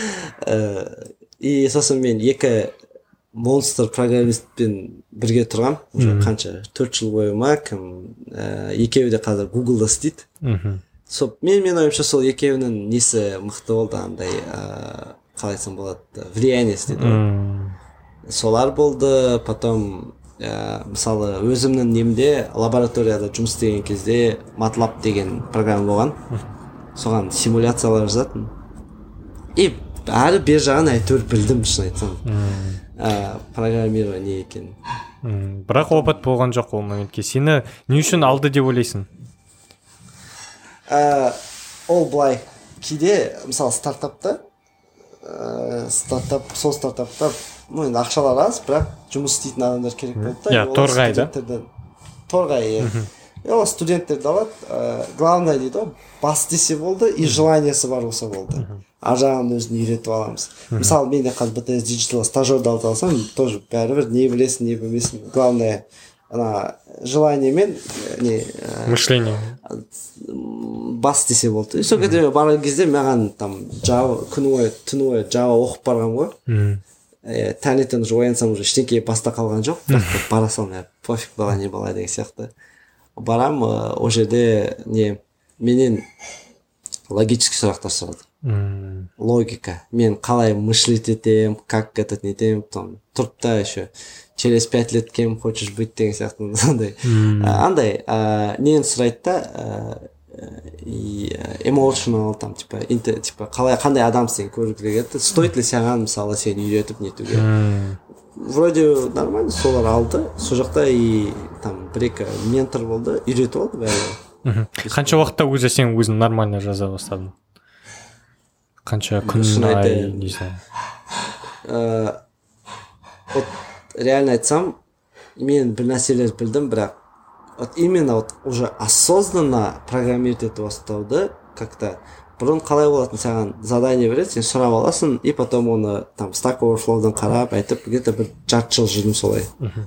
И сосын мен екі монстр программистпен бірге тұрғам, уже қанша төрт жыл бойы ма, кім екеуі де қазір Google-да істейді. Сол мен мен ойымша сол екеуінің несі мықты болды, андай қалай айтсам болады, влияние істеді. Солар болды, потом мысалы өзімнің немде лабораторияда жұмыс істеген кезде MATLAB деген программа болған. Соған симуляциялар жазатын. И әрі бер жағын әйтеуір білдім, шын айтсам. Программирование екен. Бірақ опыт болған жоқ ол моментке. Сені не үшін алды деп ойлайсың? Ол былай, кейде мысалы стартапта стартап, сол стартапта ну, енді ақшалар аз, бірақ жұмыс істейтін адамдар керек болды да. Иә, Торғай, да? Торғай, иә. Ол студенттерді алады, главное дейді ғой, бас десе болды, и желаниесі бар болса болды. Ар жағын өзін үйретіп аламыз. Мысалы, мен де қазір би ти эс Digital стажерді алып алсам, тоже бәрібір не білесің, не білмесің. Главное, ана желание мен не мышление бас десе болды. Сол кезде барған кезде маған там Java күні бойы түні бойы Java оқып барғам ғой. Таңертең уже оянсам уже ештеңе баста қалған жоқ. Бірақ бара салмай, пофиг бала не бала деген сияқты. Барам, ол жерде не менен логический сұрақтар сұрады. Логика. Мен қалай мышлить етем, как этот нетем, там тұрып та еще через пять лет кем хочешь быть деген сияқты андай. Андай, нені сұрайды да, emotional там типа типа қалай қандай адамсың көргісі келеді. Стоит ли саған мысалы сені үйретіп нетуге? Вроде нормально, солар алды. Сол жақта и там бір-екі ментор болды, үйретіп алды бәрі. Қанша уақытта уже сен өзің нормально жаза бастадың? қанша күн Шын ай айтайын. не знаю. Э, вот реально айтсам, мен бір нәрселер білдім, бірақ вот именно вот уже осознанно программировать етіп бастауды как-то бұрын қалай болатын, саған задание береді, сен сұрап аласың, и потом оны там Stack Overflow'дан қарап айтып, где-то бір жарты жыл жүрдім солай.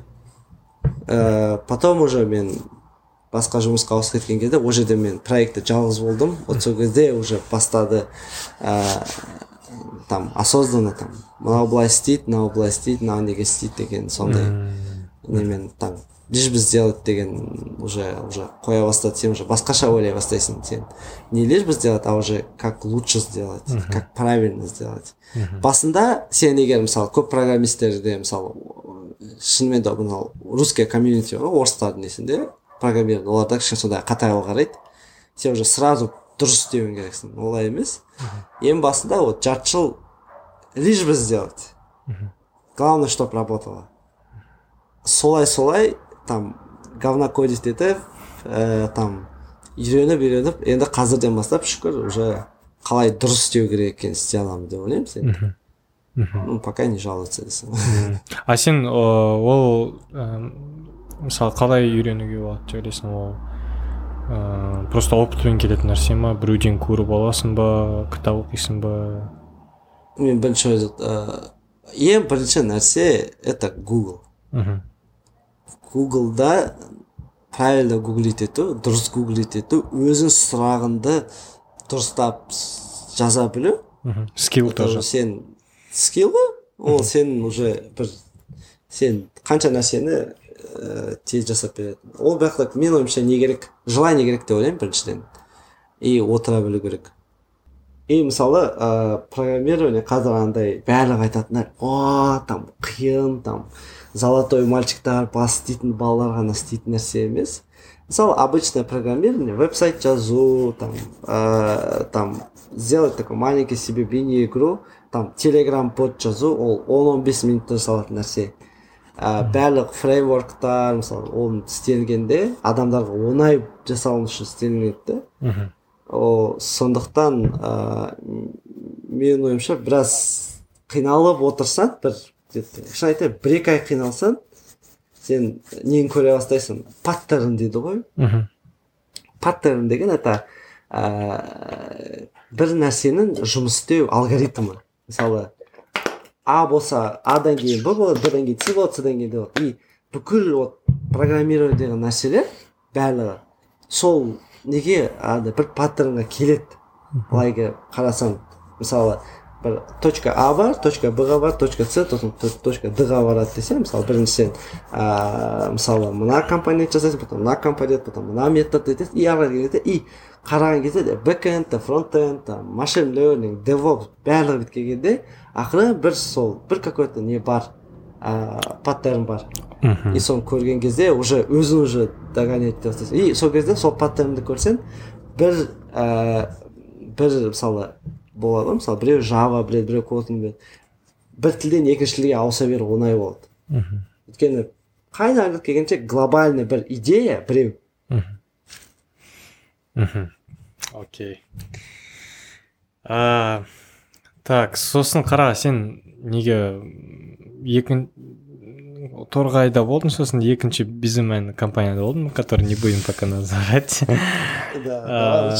Э, потом уже мен басқа жұмысқа ауысып кеткен кезде, ол жерде мен проектте жалғыз болдым. Вот сол кезде уже бастады ә, там осознанно там мынау былай істейді, мынау былай істейді, мынау неге істейді деген сондай немен там лишь бы сделать деген уже уже қоя бастады. Сен уже басқаша ойлай бастайсың. Сен не лишь бы сделать, а уже как лучше сделать, как правильно сделать. Басында сен егер мысалы көп программистерде мысалы шынымен де мынау русская комьюнити бар, орыстардың несінде программирование, оларда кішкене сондай қатайға қарайды. Сен уже сразу дұрыс істеуің керексің. Олай емес. Ең басында вот жарты жыл лишь бы сделать. Главное, чтоб работало. Солай-солай там говна кодить етіп, ә, там үйреніп үйреніп, енді қазірден бастап шүкір уже қалай дұрыс істеу керек екенін істей аламын деп ойлаймын сен. Ну, пока не жалуется десең. А сен ол мысалы қалай үйренуге болады деп ойлайсың? Ол ә, просто опытпен келетін нәрсе ма, біреуден көріп аласың ба, кітап оқисың ба? Мен бірінші ә, ең бірінші нәрсе это Google. Google'да правильно гуглить ету, дұрыс гуглить ету, өзің сұрағыңды дұрыстап жаза білу. Скилл тоже. Сен скилл ғой, ол сен уже бір сен қанша нәрсені ә, тез жасап береді. Ол бірақ мен ойымша не керек, желание керек деп ойлаймын біріншіден. И отыра білу керек. И мысалы ә, программирование қазір андай барлығы айтатындар, о, там қиын, там золотой мальчиктар бас істейтін балалар ғана істейтін нәрсе емес. Мысалы обычное программирование, веб-сайт жазу, там, ә, там сделать такой маленький себе мини-игру, там телеграм-бот жазу, ол он он бес минутта жасалатын нәрсе. Ә, барлық фреймворктар, мысалы, оны істелгенде адамдарға оңай жасалуы үшін істелінеді. О, сондықтан ә, мен ойымша біраз қиналып отырсаң, бір шын айтайын, бір-екі ай қиналсаң, сен нені көре бастайсың? Паттерн дейді ғой. Паттерн деген это ә, бір нәрсенің жұмыс істеу алгоритмі. Мысалы, А болса, Адан кейін Б болады, Б-дан кейін С болады, С-дан кейін Д болады. И бүкіл вот программирование деген нәрселер барлығы сол неге ады бір паттернға келеді. Былай қарасаң, мысалы, бір точка А бар, точка Б-ға бар, точка С, точка Д-ға барады десе, мысалы, бірінші сен ә, мысалы, мына компонент жасайсың, потом мына компонент, потом мына метод етесің, и ары келеді, и қараған кезде бэкэнд, фронтенд, машин learning, DevOps барлығы біткен кезде ақыры бір сол, бір какой-то не бар, ә, паттерн бар. И соны көрген кезде уже өзің уже догонять ете бастайсың. И сол кезде сол паттернді көрсең, бір ә, бір мысалы болады, мысалы біреу Java біледі, біреу Kotlin біледі. Бір тілден екінші тілге ауыса беру оңай болады. Өйткені қайдан келгенше глобальный бір идея біреу. Окей. Так, сосын қара, сен неге екін Торғайда болдың, сосын екінші Busyman компанияда болдың, который не будем пока называть. Да,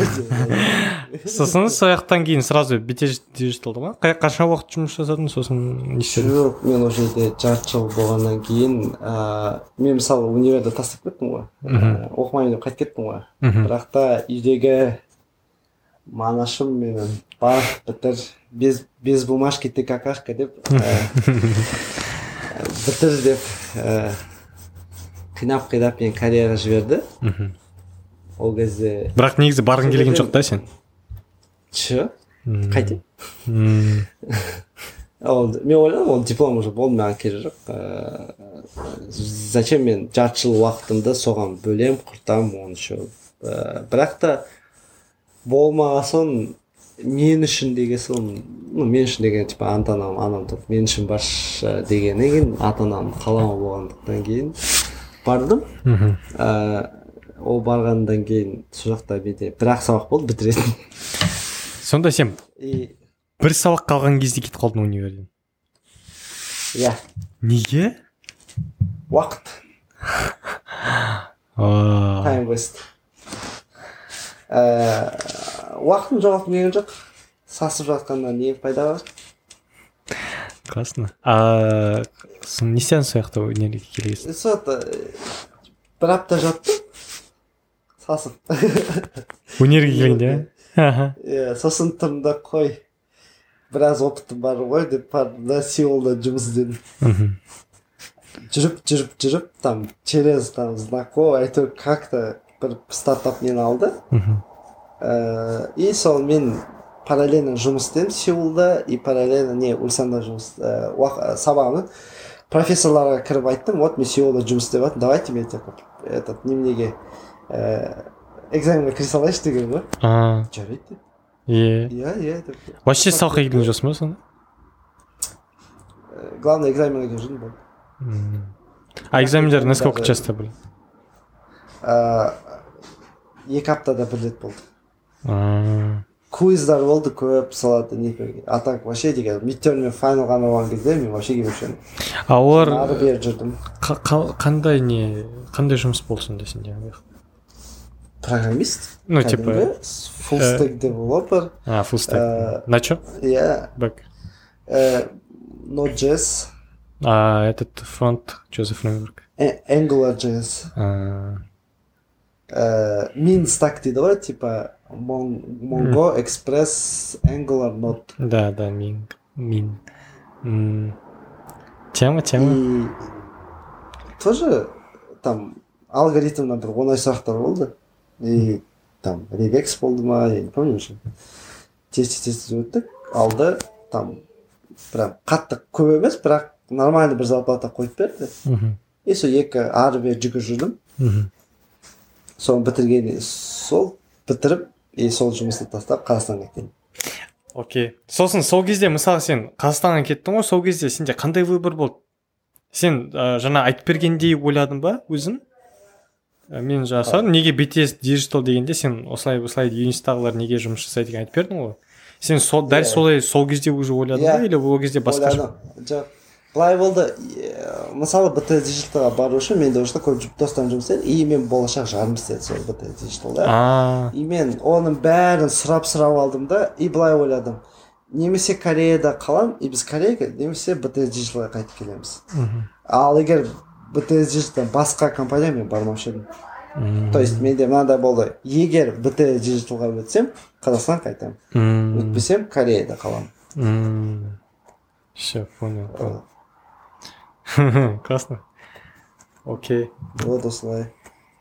сосын сояқтан кейін сразу бите диджиталды ма? Қанша уақыт жұмыс жасадың, сосын не істедің? Жоқ, мен ол жерде жарты жыл болғаннан кейін, мен мысалы универді тастап кеттім ғой, оқымайын деп қайтып кеттім ғой. Бірақ та үйдегі манашым менің бар, бітір, без бумажки ты какашка деп бітір деп қинап-қинап мен Кореяға жіберді. Ол кезде... Бірақ негізі барғың келген жоқ та сен? Че? Қайтем? Мен ойладым, ол диплом уже болды, маған керек жоқ. Зачем мен жарты жыл уақытымды соған бөлем, құртам, оны еще. Бірақ та болмаған соң мен үшін деген соң, мен үшін деген типа ата-анам, анам топ мен үшін баш дегеннен кейін ата-анам қаламы болғандықтан кейін бардым. Ол барғандан кейін сол жақта менде бір-ақ сабақ болды бітіретін. сонда сен и бір сабақ қалған кезде кетіп қалдың универден. иә, Неге? уақыт, Аа, time waste. Ә, уақытын жоғалтқым келген жоқ. Сасып жатқаннан не пайда бар? классно. А сон не істедің сол жақта универге келген? Сол бір апта жаттым. Сасып. Универге келгенде? Аха. Иә, сосын тұрдым да қой. Біраз опытым бар ғой деп бардым да Сеулда жұмыс іздедім. Мгм. Жүріп, жүріп, жүріп, там, через там знакомый, әйтеуір как-то бір стартап мені алды. Мгм. Ә, и сол мен параллельно жұмыс істедім Сеулда, и параллельно не Ульсанда жұмыс ә, уақ- сабағымын профессорларға кіріп айттым, вот мен Сеулда жұмыс істеп жатырмын, давайте мен типа этот неменеге ә, экзаменге кіре салайыншы деген ғой. А, Жарайды деп. е. Иә, иә деп. Вообще сабаққа келген жоқсың ба сонда? Ә, главное экзаменге келіп жүрдім болды. М. А экзамендер насколько часто были? Ә, екі аптада бір рет болды. А, Квиздар болды көп салады не. А так вообще деген мидтерм мен файнал ғана болған кезде мен вообще келмеуші едім. а олар Ары бері жүрдім. қа- қа- қандай не қандай жұмыс болды сонда сенде? Программист. Ну, типа, кәдімгі, full stack developer. А, full stack. Э, На чё? Иә. Back. Э, Node.js. А этот фронт, что за фреймворк? э, AngularJS. А, Э, Min stack дейді ғой, типа Mon- Mongo, Express, Angular, Node. да, да, мин. Мин. М. Тема, тема. И тоже там алгоритмнан бір оңай сұрақтар болды. И там регекс болды ма, я не помню уже. Тез тез өттік, алды, там прям қатты көп емес, бірақ нормальный бір зарплата қойып берді. Мгм. И сол екі ары бері жүгіріп жүрдім. Мгм. Соны бітірген, сол бітіріп, и сол жұмысты тастап Қазақстанға кеттім. Окей. Сосын сол кезде мысалы сен Қазақстанға кеттің ғой, сол кезде сенде қандай выбор болды? Сен ә, жаңа айтып бергендей ойладың ба өзің? Ә, мен жаңа сұрадым, неге би ти эс Digital дегенде сен осылай осылай юнистағылар неге жұмыс жасайды деген айтып бердің ғой. Сен сол дәл Иә. солай сол кезде уже ойладың Иә. ба или ол кезде басқаша? Ойладым. Жоқ. Былай болды, е, мысалы би ти эс Digitalға бару үшін менде уже көп достарым жұмыс істеді, и мен болашақ жарым істеді сол би ти эс Digitalда. А, И мен оның бәрін сұрап-сұрап алдым да, и былай ойладым. Немесе Кореяда қалам, и біз Кореяға, немесе би ти эс Digitalға қайтып келеміз. мгм. Ал егер би ти эс Digital басқа компания мен бармаушы едім. М. То есть менде мынандай болды. Егер би ти эс Digitalға өтсем, Қазақстанға қайтамын. М. Өтпесем, Кореяда қаламын. М. Все, понял. понял. Классно. Окей. Вот осылай.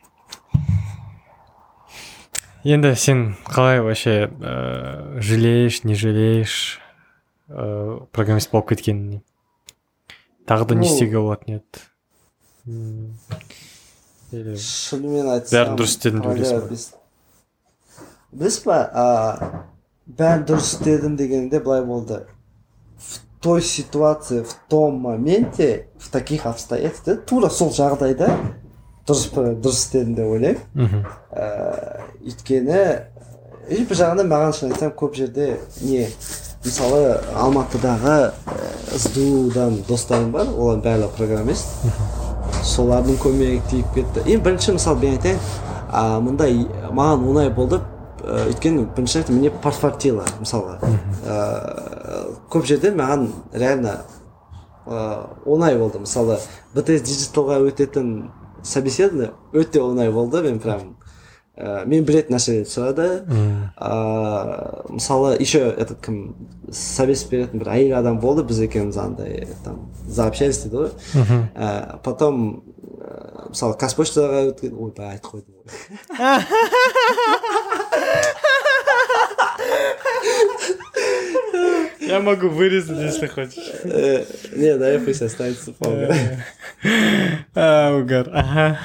Енді сен қалай вообще ә, жалеешь, не жалеешь ә, программист болып кеткеніне? Тағы да не Ну, істеуге болатын еді? М, или Шынымен айтсам, бәрін дұрыс істедім деп ойлайсың ба? біз- Білесіз ба, а, бәрін дұрыс істедім дегенде былай болды. В той ситуации, в том моменте, в таких обстоятельствах, тура сол жағдайда дұрыс дұрыс істедім деп ойлаймын. Мгм. Ә, Өйткені и бір жағынан маған шын айтсам көп жерде не мысалы Алматыдағы эс ди юдан достарым бар, олар барлығы программист. Солардың көмегі тиіп кетті. Ең бірінші мысалы мен айтайын, а, мындай маған оңай болды, ә, өйткені бірінші айтайын, мне подфартило мысалға. Ә, көп жерде маған реально ә, оңай болды. Мысалы би ти эс Digitalға өтетін собеседование өте оңай болды. Мен прям ә, мен білетін нәрселерді сұрады. М. А, мысалы еще этот кім совет беретін бір әйел адам болды, біз екеуміз андай там заобщались дейді ғой. Мгм. А, потом ә, мысалы Қазпоштаға өткен, ой бәрі айтып қойдым ғой. Я могу вырезать, если хочешь. Э, Не, дай пусть останется полно. А, угар. Ага.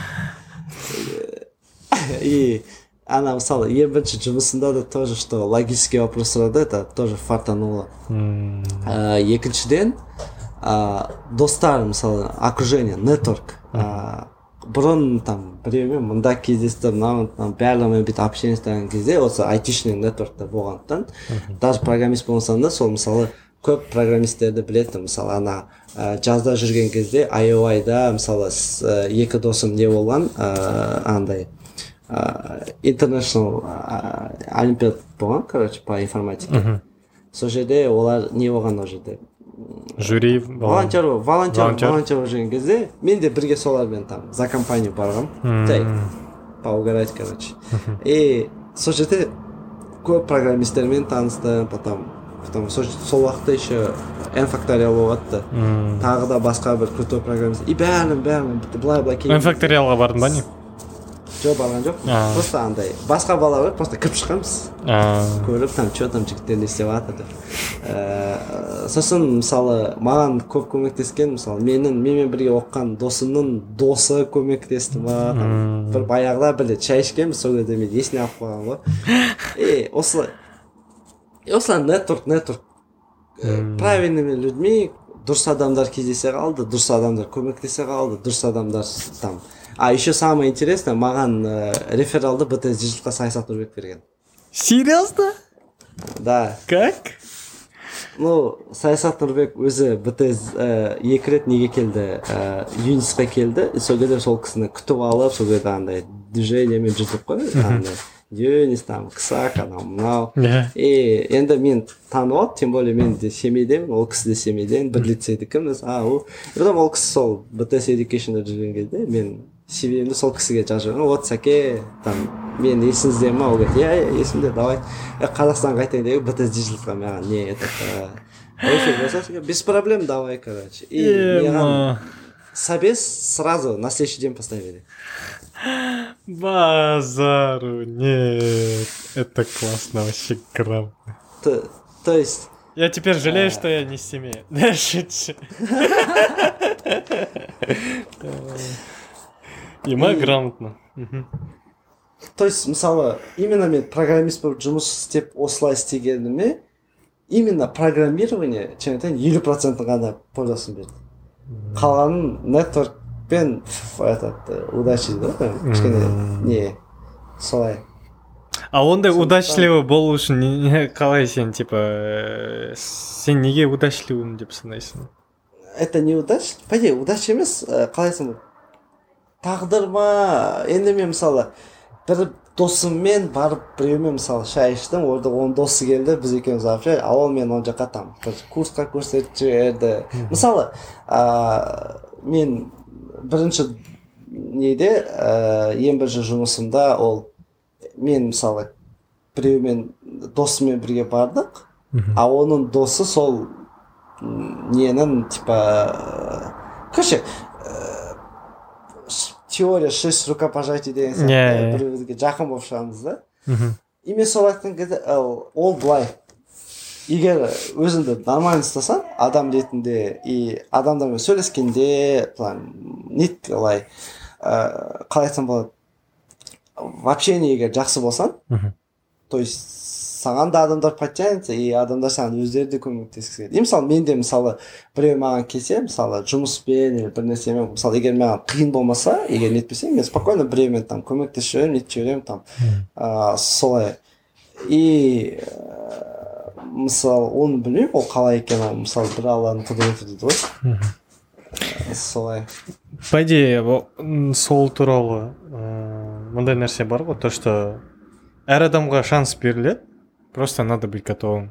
И она мысалы ең бірінші жұмысында да тоже, что логический вопрос сұрады, это тоже фартануло. М. А, екіншіден а, достар мысалы окружение, network а, бұрын там біреумен мында кездесті мынау барлығымен бүйтіп общение жасаған кезде осы айтишный нетворкта болғандықтан даже программист болсам да сол мысалы көп программисттерді білетінмін. Мысалы ана ә, жазда жүрген кезде ай о ай-да мысалы ә, екі досым не болған ә, андай ә, international ә, олимпиад болған, короче, по информатике. Сол жерде олар не болған ол жерде жюри волонтер волонтер волонтер болып жүрген кезде мен де бірге солармен там за компанию барғанмын, жай поугарать, короче. И сол жерде көп программисттермен таныстым, потом потом сол уақытта еще n факториал болғанды, тағы да басқа бір крутой программист и бәрін бәрін былай былай n факториалға бардың ба не? Жоқ, барған жоқ. Просто андай басқа балалар просто кіріп шыққанбыз, көріп там че там жігіттер не істеп жатыр деп. Сосын мысалы маған көп көмектескен, мысалы менің менімен бірге оқыған досымның досы көмектесті маған. Бір баяғыда бір шай ішкенбіз, сол кезде мен есіне алып қойған ғой. И осылай осылай нетворк нетворк правильными людьми дұрыс адамдар кездесе қалды, дұрыс адамдар көмектесе қалды, дұрыс адамдар там. А еще самое интересное, маған э, рефералды бэ тэ эс Digital'ға Саясат Нұрбек берген. Серьезно? Да. Как? Ну, Саясат Нұрбек өзі бэ тэ эс э, екі рет неге келді, э, Юнисқа келді, и сол кезде сол кісіні күтіп алып, сол кезде андай движениемен жүрдік қой, андай Юнис там, Ксак, анау мынау. И енді мен танып алып, тем более мен де семейдемін, ол кісі де семейден, бір лицейдікіміз. А, ол, потом ол кісі сол бэ тэ эс Education'да жүрген кезде мен си ви-мді сол кісіге жазып жүрген. Вот сәке, там, мен есіңізде ма? Ол говорит, иә, иә, есімде, давай. Қазақстанға қайтайын деп, бэ тэ эс Digital'ға маған не это? Без проблем, давай, короче. И маған собес сразу на следующий день поставили. Базару, нет, это классно, вообще грамотно. То, то есть... Я теперь жалею, что я не с семьей. Шучу. И мы грамотно. То есть, мысалы, именно мен программист болып жұмыс істеп осылай істегеніме, именно программирование, чем айтайын, елу процентін ғана пользасын берді. Қалғанын нетворк пен этот удачи, да? Кішкене не солай. А ондай удачливый болу үшін қалай сен, типа, сен неге удачливым деп санайсың? Это не удача, по идее, удача емес, қалайсың, тағдыр ма? Енді мен мысалы бір досыммен барып біреумен мысалы шай іштім, орда оның досы келді, біз екеуміз алып шай, ал ол мен ол жаққа там курсқа көрсетіп жіберді. Мысалы, мен бірінші неде ең бірінші жұмысымда ол мен мысалы біреумен досымен бірге бардық, а оның досы сол ненің типа короче теория шесть рукопожатий деген сияқты бір-бірге жақын болып шығамыз да. И мен сол айтқан кезде ол былай, егер өзіңді нормально ұстасаң адам ретінде и адамдармен сөйлескенде нет қалай қалай айтсам болады, в общении егер жақсы болсаң, то есть саған да адамдар подтянется и адамдар саған өздері де көмектескісі келеді. И мысалы мен де мысалы біреу маған келсе, мысалы жұмыспен или бір нәрсемен, мысалы егер маған қиын болмаса, егер нетпесем, мен спокойно біреумен там көмектесіп жүремін, нетіп жүремін там солай. И мысалы оны білмеймін, ол қалай екенін, мысалы бір алланың құдіреті дейді ғой. Солай. По идее, сол туралы мындай нәрсе бар ғой, то что әр адамға шанс беріледі, просто надо быть готовым.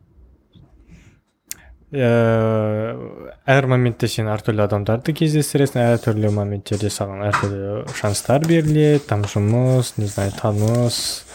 Әр моментте сен әртүрлі адамдарды кездестіресің, әртүрлі моменттерде саған әртүрлі шанстар беріледі, там жұмыс, не знаю, таныс,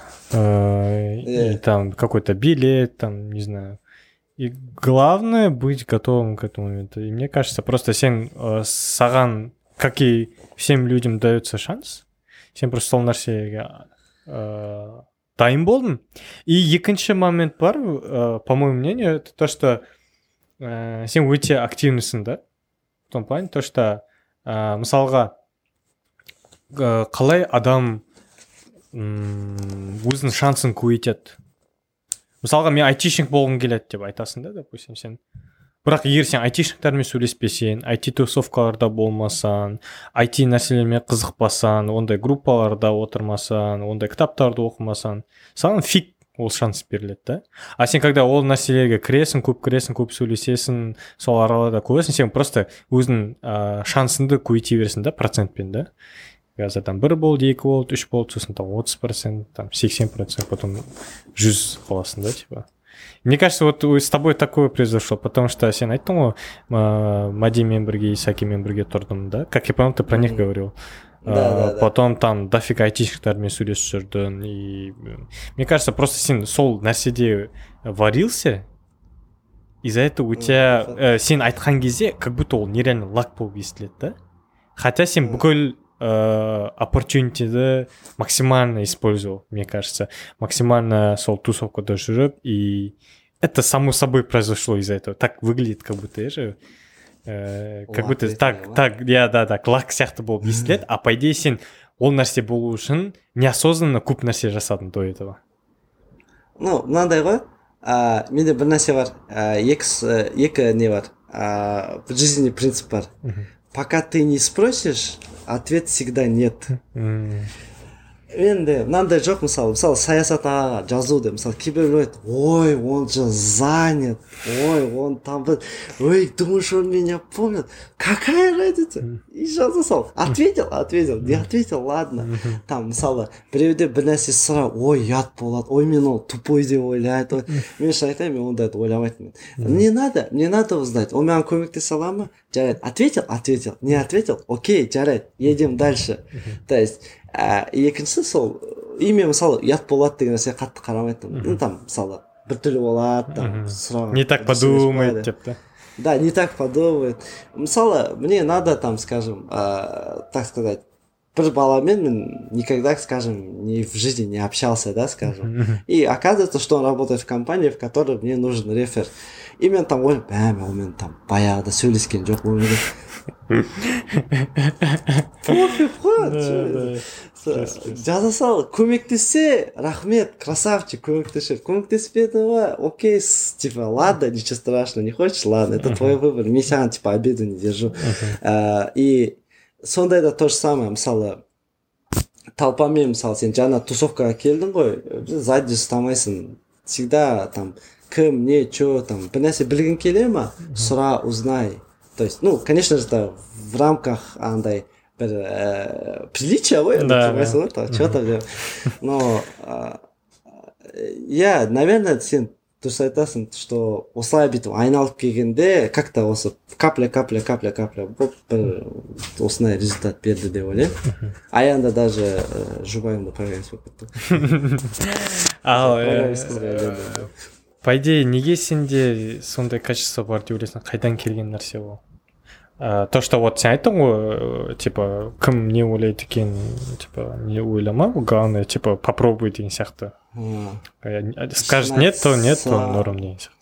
и там какой-то билет, там, не знаю. И главное быть готовым к этому моменту. И мне кажется, просто сен саған, как и всем людям дается шанс, сен просто сол нәрсеге дайын болдым. И екінші момент бар, по моему мнению, это то, что сен өте активныйсың да. В том плане, то, что мысалға қалай адам өзінің шансын көбейтеді. Мысалға мен айтишник болғым келеді деп айтасың да, допустим, сен бірақ егер сен айтишниктармен сөйлеспесең, айти тусовкаларда болмасаң, айти нәрселермен қызықпасаң, ондай группаларда отырмасаң, ондай кітаптарды оқымасаң, саған фиг ол шанс беріледі да. А сен когда ол нәрселерге кіресің, көп кіресің, көп сөйлесесің, сол араларда көресің, сен просто өзің ә, шансыңды көбейте бересің да, процентпен да. Қазір там бір болды, екі болды, үш болды, сосын там отыз процент, там сексен процент, потом жүз қаласың да, типа. Мне кажется, вот с тобой такое произошло, потому что сен айттың ғой, Мадимен бірге, Исакимен бірге тұрдым, да? Как я понял, ты про них говорил. Да, да, да. Потом там дофига айтишниктармен сөйлесіп жүрдің, и мне кажется, просто сен сол нәрседе варился, из-за этого у тебя э, сен айтқан кезде как будто ол нереально лак болып естіледі, да? Хотя сен бүкіл э, opportunity'ді максимально использовал, мне кажется, максимально сол тусовкада жүріп, и это само собой произошло из-за этого. Так выглядит, как будто я же э, как Лак будто так, так, я, да, так, лак сияқты болып естіледі, а по идее сен ол нәрсе болу үшін неосознанно көп нәрсе жасадың до этого. Ну, мынандай ғой, а, менде бір нәрсе бар, а, екі, с- екі не бар, а, в жизни принцип бар. Пока ты не спросишь, ответ всегда нет. М, Енді мынандай жоқ, мысалы мысалы саясат ағаға жазуды, мысалы кейбіреулер айтады, ой, он же занят, ой, он там бір, ой, думаешь, он меня помнит, какая разница, и жаза сал, ответил, ответил, не ответил, ладно. Там мысалы біреуде бір нәрсе сұра, ой, ұят болады, ой, мен ол тупой деп ойлайды, ой. Мен шын айтайын, мен ондайды ойламайтынмын. Мне надо, мне надо узнать, он маған көмектесе ала ма? Жарайды, ответил, ответил, не ответил, окей, жарайды, едем дальше. То есть ә, екіншісі сол име мысалы ұят болады деген нәрсе қатты қарамайтын. Ну там мысалы біртүрлі болады, там сұраған. Не так дұрыс емес подумает, болады. деп, да? Да, не так подумает. Мысалы, мне надо там, скажем, э, так сказать, бір баламен мен никогда, скажем, ни в жизни не общался, да, скажем. И оказывается, что он работает в компании, в которой мне нужен рефер. И мен там ойлаймын, бәме, ол мен там баяғыда сөйлескен жоқ өмірде. Пофиг қой. Жаза сал, көмектессе, рахмет, красавчик, көмектесер. Көмектеспеді ма, окей, с- типа, ладно, ничего страшного, не хочешь, ладно, это твой выбор. Мен саған, типа, обиду не держу. А, И сондайда то же самое, мысалы, толпамен, мысалы, сен жаңа тусовкаға келдің ғой, сзади ұстамайсың. Всегда там, кім, не, чё, там, бір нәрсе білгің келе ма, сұра, узнай. То есть, ну, конечно же, это в рамках андай бір э, приличия ғой, Да, тұрмайсың ғой, там, чё-то деп. Но, а, я, наверное, сен дұрыс айтасың, что осылай бүйтіп айналып келгенде, как-то осы капля, капля, капля, капля болып бір осындай результат берді деп ойлаймын. Аянда даже э, жұбайымды программист болып кетті. Ал, э, Программист қызға үйленді. по идее, неге сенде сондай качество бар деп ойлайсың, қайдан келген нәрсе ол? Ә, то, что вот сен айттың ғой, э, типа, кім не ойлайды екен, типа, не ойлама, главное, типа, попробуй деген сияқты. А, Э, Скажет нет, то нет, то айтсам- норм деген сияқты.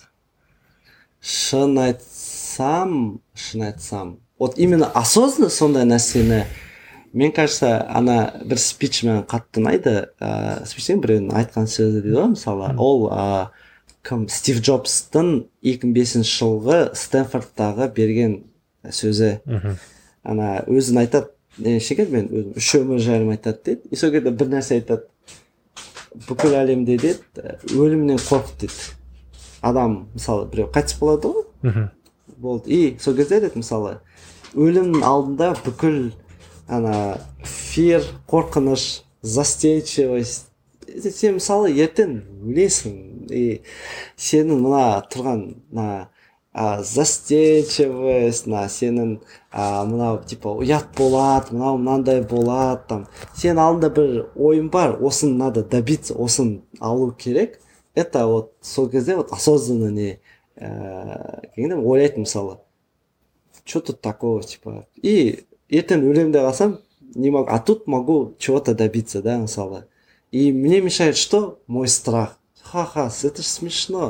Шын айтсам, шын айтсам, вот именно осознанно сондай нәрсені, мен кажется, ана бір спичмен қатты ұнайды, ә, спичтен біреудің айтқан сөзі дейді ғой, мысалы, ол ә, кім Стив Джобстың екі мың бесінші жылғы Стэнфордтағы берген сөзі. Мгм. Ана өзін айтады, не шекер, мен өзім үш өмір жайлым айтады дейді, и сол кезде бір нәрсе айтады, бүкіл әлемде дейді, өлімнен қорқып дейді. Адам, мысалы, біреу қайтыс болады ғой, Мгм. болды. И сол кезде деді, мысалы, өлімнің алдында бүкіл ана фир, қорқыныш, застенчивость, сен мысалы ертең өлесің, и сенің мына тұрған мына а, застенчивость, мына сенің а, мынау типа ұят болады, мынау мынандай болады, там сен алдында бір ойың бар, осын надо добиться, осын алу керек. Это вот сол кезде вот осознанно не ә, келгенде ойлайтын, мысалы, что тут такого, типа, и ертең өлемін деп алсам, не могу, а тут могу чего-то добиться, да, мысалы. И мне мешает что? Мой страх. Ха-ха, это же смешно.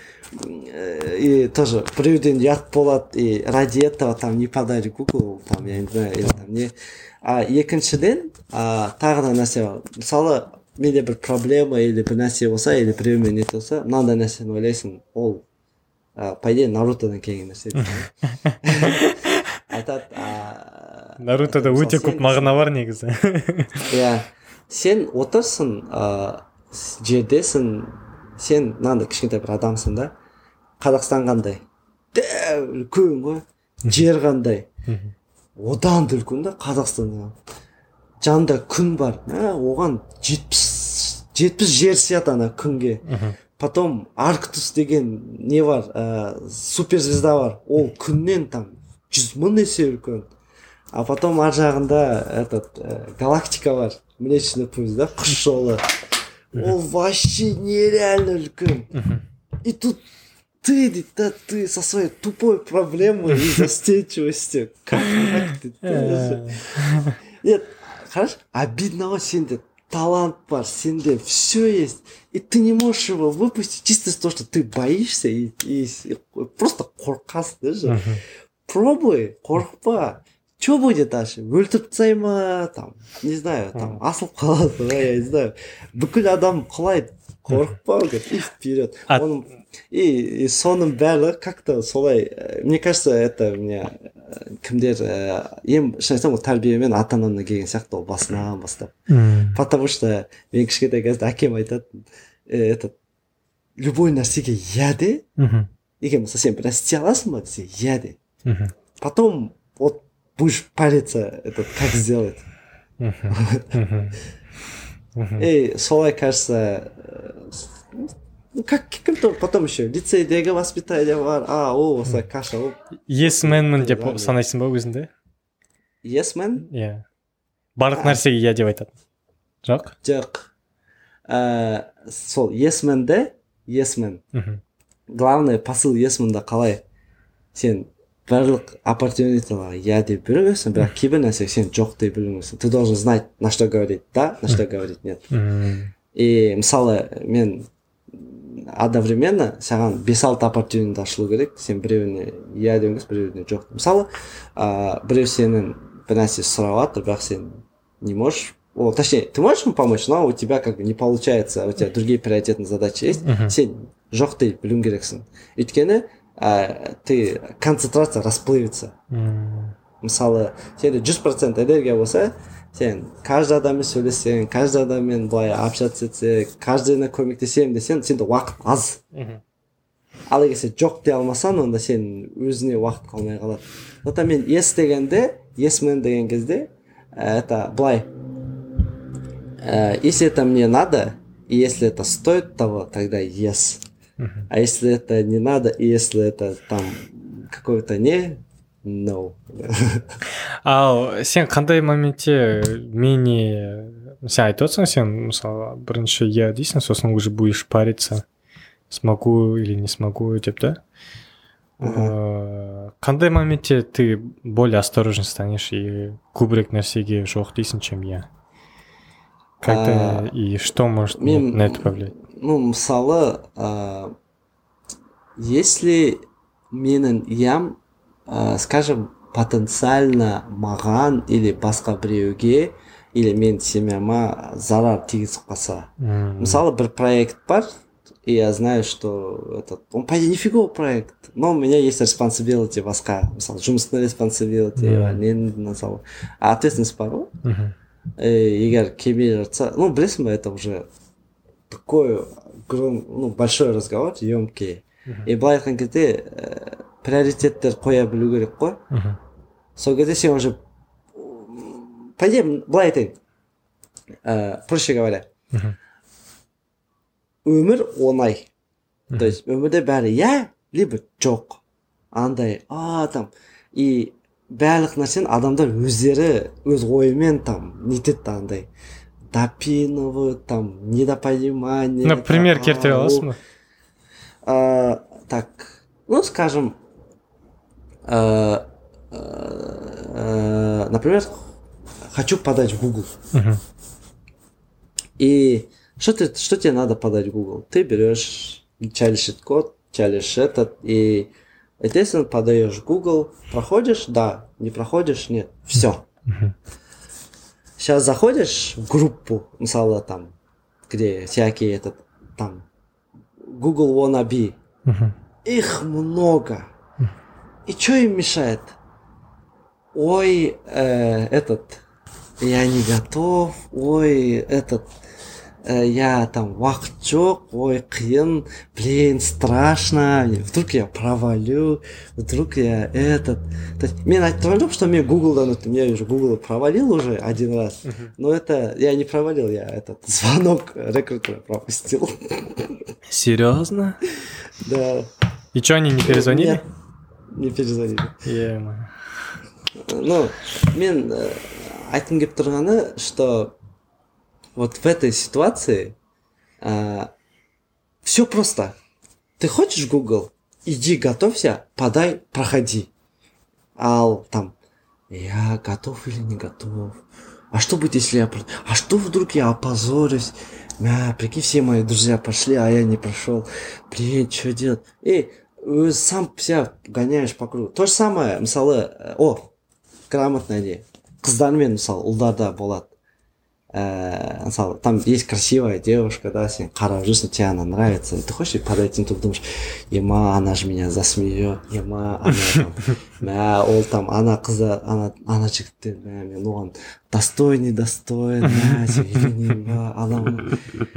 И тоже біреуден ұят болады, и ради этого там не подай Google, там, я не знаю, или там не. А екіншіден, а, тағы да нәрсе бар. Мысалы, менде бір проблема или бір нәрсе болса, или біреумен не болса, мынандай нәрсені ойлайсың, ол а, по идее нарутодан келген нәрсе айтады нарутода өте көп мағына бар негізі. иә сен отырсың ә, жердесің, сен мынандай кішкентай бір адамсың да, Қазақстан қандай дәу үлкен ғой, жер қандай одан да үлкен да Қазақстан, жанында күн бар, ә, оған жетпіс жетпіс жер сияды ана күнге. Потом Арктус деген не бар, ә, суперзвезда бар, ол күннен там жүз мың есе үлкен. А потом ар жағында этот ә, галактика бар, Млечный путь, да, құс жолы. Ол вообще нереально үлкен. И тут ты, да, ты со своей тупой проблемой и застенчивостью. Как так? Нет, хорошо, обидно ғой, сенде талант бар, сенде все есть, и ты не можешь его выпустить чисто из того, что ты боишься и, и, и просто қорқасың даже. Пробуй, қорықпа. Что будет дальше? Өлтіріп тастай ма, там, не знаю, там, асылып қалады, я не знаю. Бүкіл адам құлайды, қорықпа, говорит, и вперед. Он, и, и соның бәрі как-то солай, мне кажется, это меня кімдер, ем, шын айтсам, ол тәрбиемен ата-анамнан келген сияқты, ол басынан бастап. Потому что мен кішкентай кезде әкем айтады, этот, любой нәрсеге иә де, егер мысалы сен бір нәрсе істей аласың ба десе, иә де. Потом вот будешь париться, этот, как сделать. И солай, кажется, ну, как кім-то потом еще лицейдегі воспитание бар, а, о, осылай каша, о. Yes man-мін деп санайсың ба өзіңді? Yes man? Иә. Барлық нәрсеге иә деп айтады. Жоқ? Жоқ. Сол yes man-де, yes man. Главный посыл yes man-да қалай? Сен барлық оппортунитиларға иә деп біліңесің, бірақ кейбір нәрсеге сен жоқ деп біліңесің. Ты должен знать, на что говорить да, на что говорить нет. И мысалы мен одновременно саған бес-алты оппортунит ашылу керек, сен біреуіне иә деуіңіз, біреуіне жоқ. Мысалы біреу сенің бір нәрсе сұрап жатыр, бірақ сен не можешь, о, точнее, ты можешь ему помочь, но у тебя как бы не получается, у тебя другие приоритетные задачи есть, сен жоқ деп білуің керексің. Өйткені Uh, ты концентрация расплывется. Mm. Мысалы, сенде жүз процент энергия болса, сен каждый адаммен сөйлессең, каждый адаммен былай общаться етсең, каждыйына көмектесемін десең, сенде уақыт аз. Mm-hmm. Ал егер сен жоқ дей алмасаң, онда сен өзіне уақыт қалмай қалады. Сондықтан мен yes дегенде, yes man деген кезде, это былай, если это мне надо, и если это стоит того, тогда yes. А если это не надо, и если это там какой-то не, no. Ал сен қандай моментте мені, сен айтып отырсың, сен мысалы бірінші иә дейсің, сосын уже будешь париться, смогу или не смогу деп, да? Қандай моментте ты более осторожен станешь и көбірек нәрсеге жоқ дейсің, чем я? Как-то и что может на это повлиять? Ну, мысалы, ә, если менің ям, ә, скажем, потенциально маған или басқа біреуге, или мен семьяма зарар тигізіп қалса. Mm-hmm. Мысалы, бір проект бар, и я знаю, что этот, он, по идее, нифиговый проект, но у меня есть responsibility басқа. Мысалы, жұмыстың responsibility, mm-hmm. мысалы, ответственность бар ғой. Mm-hmm. Егер келмей жатса, ну, білесің ба, это уже такой ну, большой разговор, емкий. Uh-huh. И былай айтқан кезде ә, приоритеттер қоя білу керек қой. Uh-huh. Сол кезде сен уже по идее былай айтайын, ә, проще говоря, uh-huh. өмір оңай. Uh-huh. То есть өмірде бәрі иә, либо жоқ. Андай, а там и барлық нәрсені адамдар өздері өз ойымен там нетеді андай. Допинывают, там, недопонимание. Например, там, келтіре аласың ба? А, так, ну, скажем, а, а, например, хочу подать в Google. Uh-huh. И что, ты, что тебе надо подать в Google? Ты берешь, чалишь этот код, чалишь этот, и, естественно, подаешь в Google. Проходишь? Да. Не проходишь? Нет. Все. Uh-huh. Сейчас заходишь в группу, мысалы, там, где всякие этот, там, Google wannabe, uh-huh. их много. И что им мешает? Ой, э, этот, я не готов, ой, этот, э, я там уақыт жоқ, ой, қиын, блин, страшно, вдруг я провалю, вдруг я этот. То есть, мен айтып тұрған жоқ, что мен Гуглдан өттім, я уже Google провалил уже один раз, но это, я не провалил, я этот звонок рекрутера пропустил. Серьезно? Да. И что, они не перезвонили? Нет, не перезвонили. Е-мое. Ну, мен э, айтқым келіп тұрғаны, что вот в этой ситуации э, все просто. Ты хочешь Google? Иди, готовься, подай, проходи. Ал там, я готов или не готов? А что будет, если я... про- А что вдруг я опозорюсь? Мя, прикинь, все мои друзья пошли, а я не прошел. Блин, что делать? И өзі сам себя гоняешь по кругу. То же самое, мысалы, э, о, грамотно не. Қыздармен, мысалы, ұлдарда болады. Э, мысалы, там есть красивая девушка, да, сен қарап жүрсің, тебе она нравится. Ты хочешь подойти, ты думаешь, ема, она же меня засмеет, ема, она там, мә, ол там, ана қыздар, ана, ана жігіттер, мә, мен оған достойный, недостоин, мә, сен үйленейін ба, анау.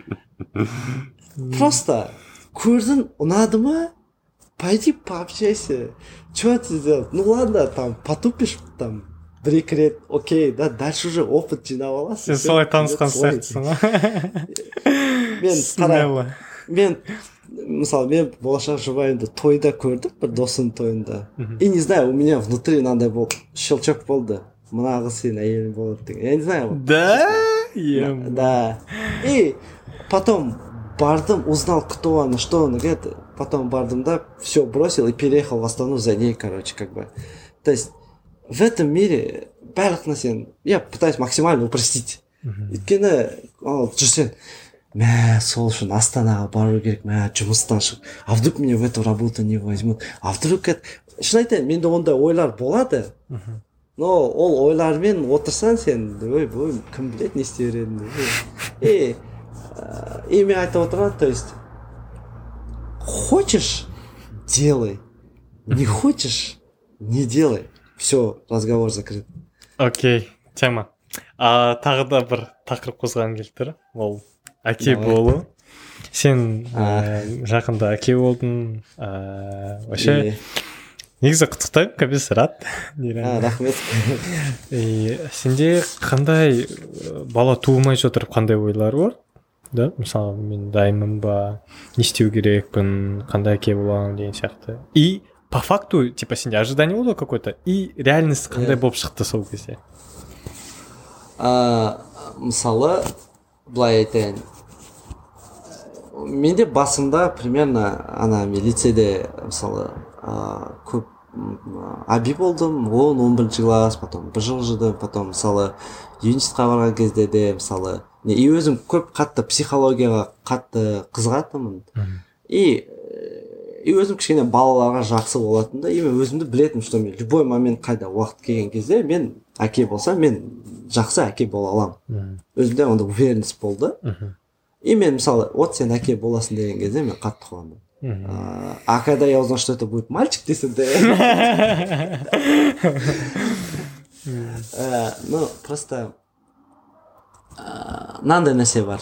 Просто көрдің, ұнады ма? Пойди пообщайся. Что ты сделал? Ну ладно, там потупишь там бір-екі рет, окей, да, дальше уже опыт жинап аласың. Сен солай танысқан сияқтысың ғой. Мен Смело. қара, мен мысалы, мен болашақ жұбайымды тойда көрдім, бір досымның тойында. И не знаю, у меня внутри мынандай болды, щелчок болды. Мына қыз сенің әйелің болады деген. Я не знаю. Да? Е-мое. Да. И потом бардым, узнал, кто она, что она, говорит, потом бардым, да, все бросил и переехал в Астану за ней, короче, как бы. То есть в этом мире барлық нәрсені, я пытаюсь максимально упростить. Өйткені, ол жүрсен, мә, сол үшін Астанаға бару керек, мә, жұмыстан шығып, а вдруг меня в эту работу не возьмут, а вдруг это... Шын айтайын, менде ондай ойлар болады, но ол ойлармен отырсаң сен, ой, ой, кім біледі не істей беретінін. И И мен айтып отырған, то есть, хочешь – делай, не хочешь – не делай. Все, разговор закрыт. Окей, тема. А тағы да бір тақырып қозғағым келіп тұр. Ол әке болу. Сен ә, жақында әке болдың. Ә, вообще, негізі құттықтаймын, кәбес рад. А, рахмет. И сенде қандай бала туылмай жатыр, қандай ойлар бар? Да, мысалы, мен дайынмын ба, не істеу керекпін, қандай әке боламын деген сияқты. И по факту, типа, сенде ожидание было какое-то, и реальность қандай болып шықты сол кезде? А, мысалы, былай айтайын, менде басында примерно ана мен лицейде мысалы а, көп аби болдым, он он бірінші класс, потом бір жыл жүрдім, потом мысалы юнистқа барған кезде де мысалы и өзім көп қатты психологияға қатты қызығатынмын. И и өзім кішкене балаларға жақсы болатын да, и мен өзімді білетім, что мен любой момент қайда уақыт келген кезде мен әке болсам, мен жақсы әке бола аламын. Өзімде онда уверенность болды. И мен мысалы, вот сен әке боласың деген кезде мен қатты қуандым. А, а когда я узнал, что это будет мальчик, ты ну, просто мынандай нәрсе бар.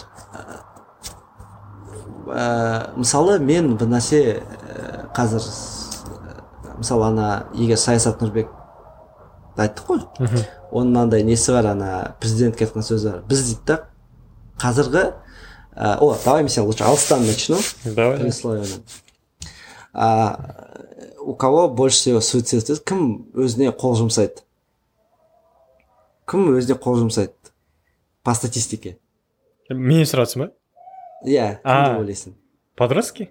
Мысалы, мен бір нәрсе қазір, мысалы, ана егер Саясат Нұрбек айттық қой, оның мынандай несі бар, ана президентке айтқан сөзі бар. Біз дейді да, қазіргі, о, давай мен лучше алыстан начну. Давай. У кого больше всего суицид? Кім өзіне қол жұмсайды? Кім өзіне қол жұмсайды? По статистике. Мен сұратсың ба? Иә, кімді ойлайсың? Подростки?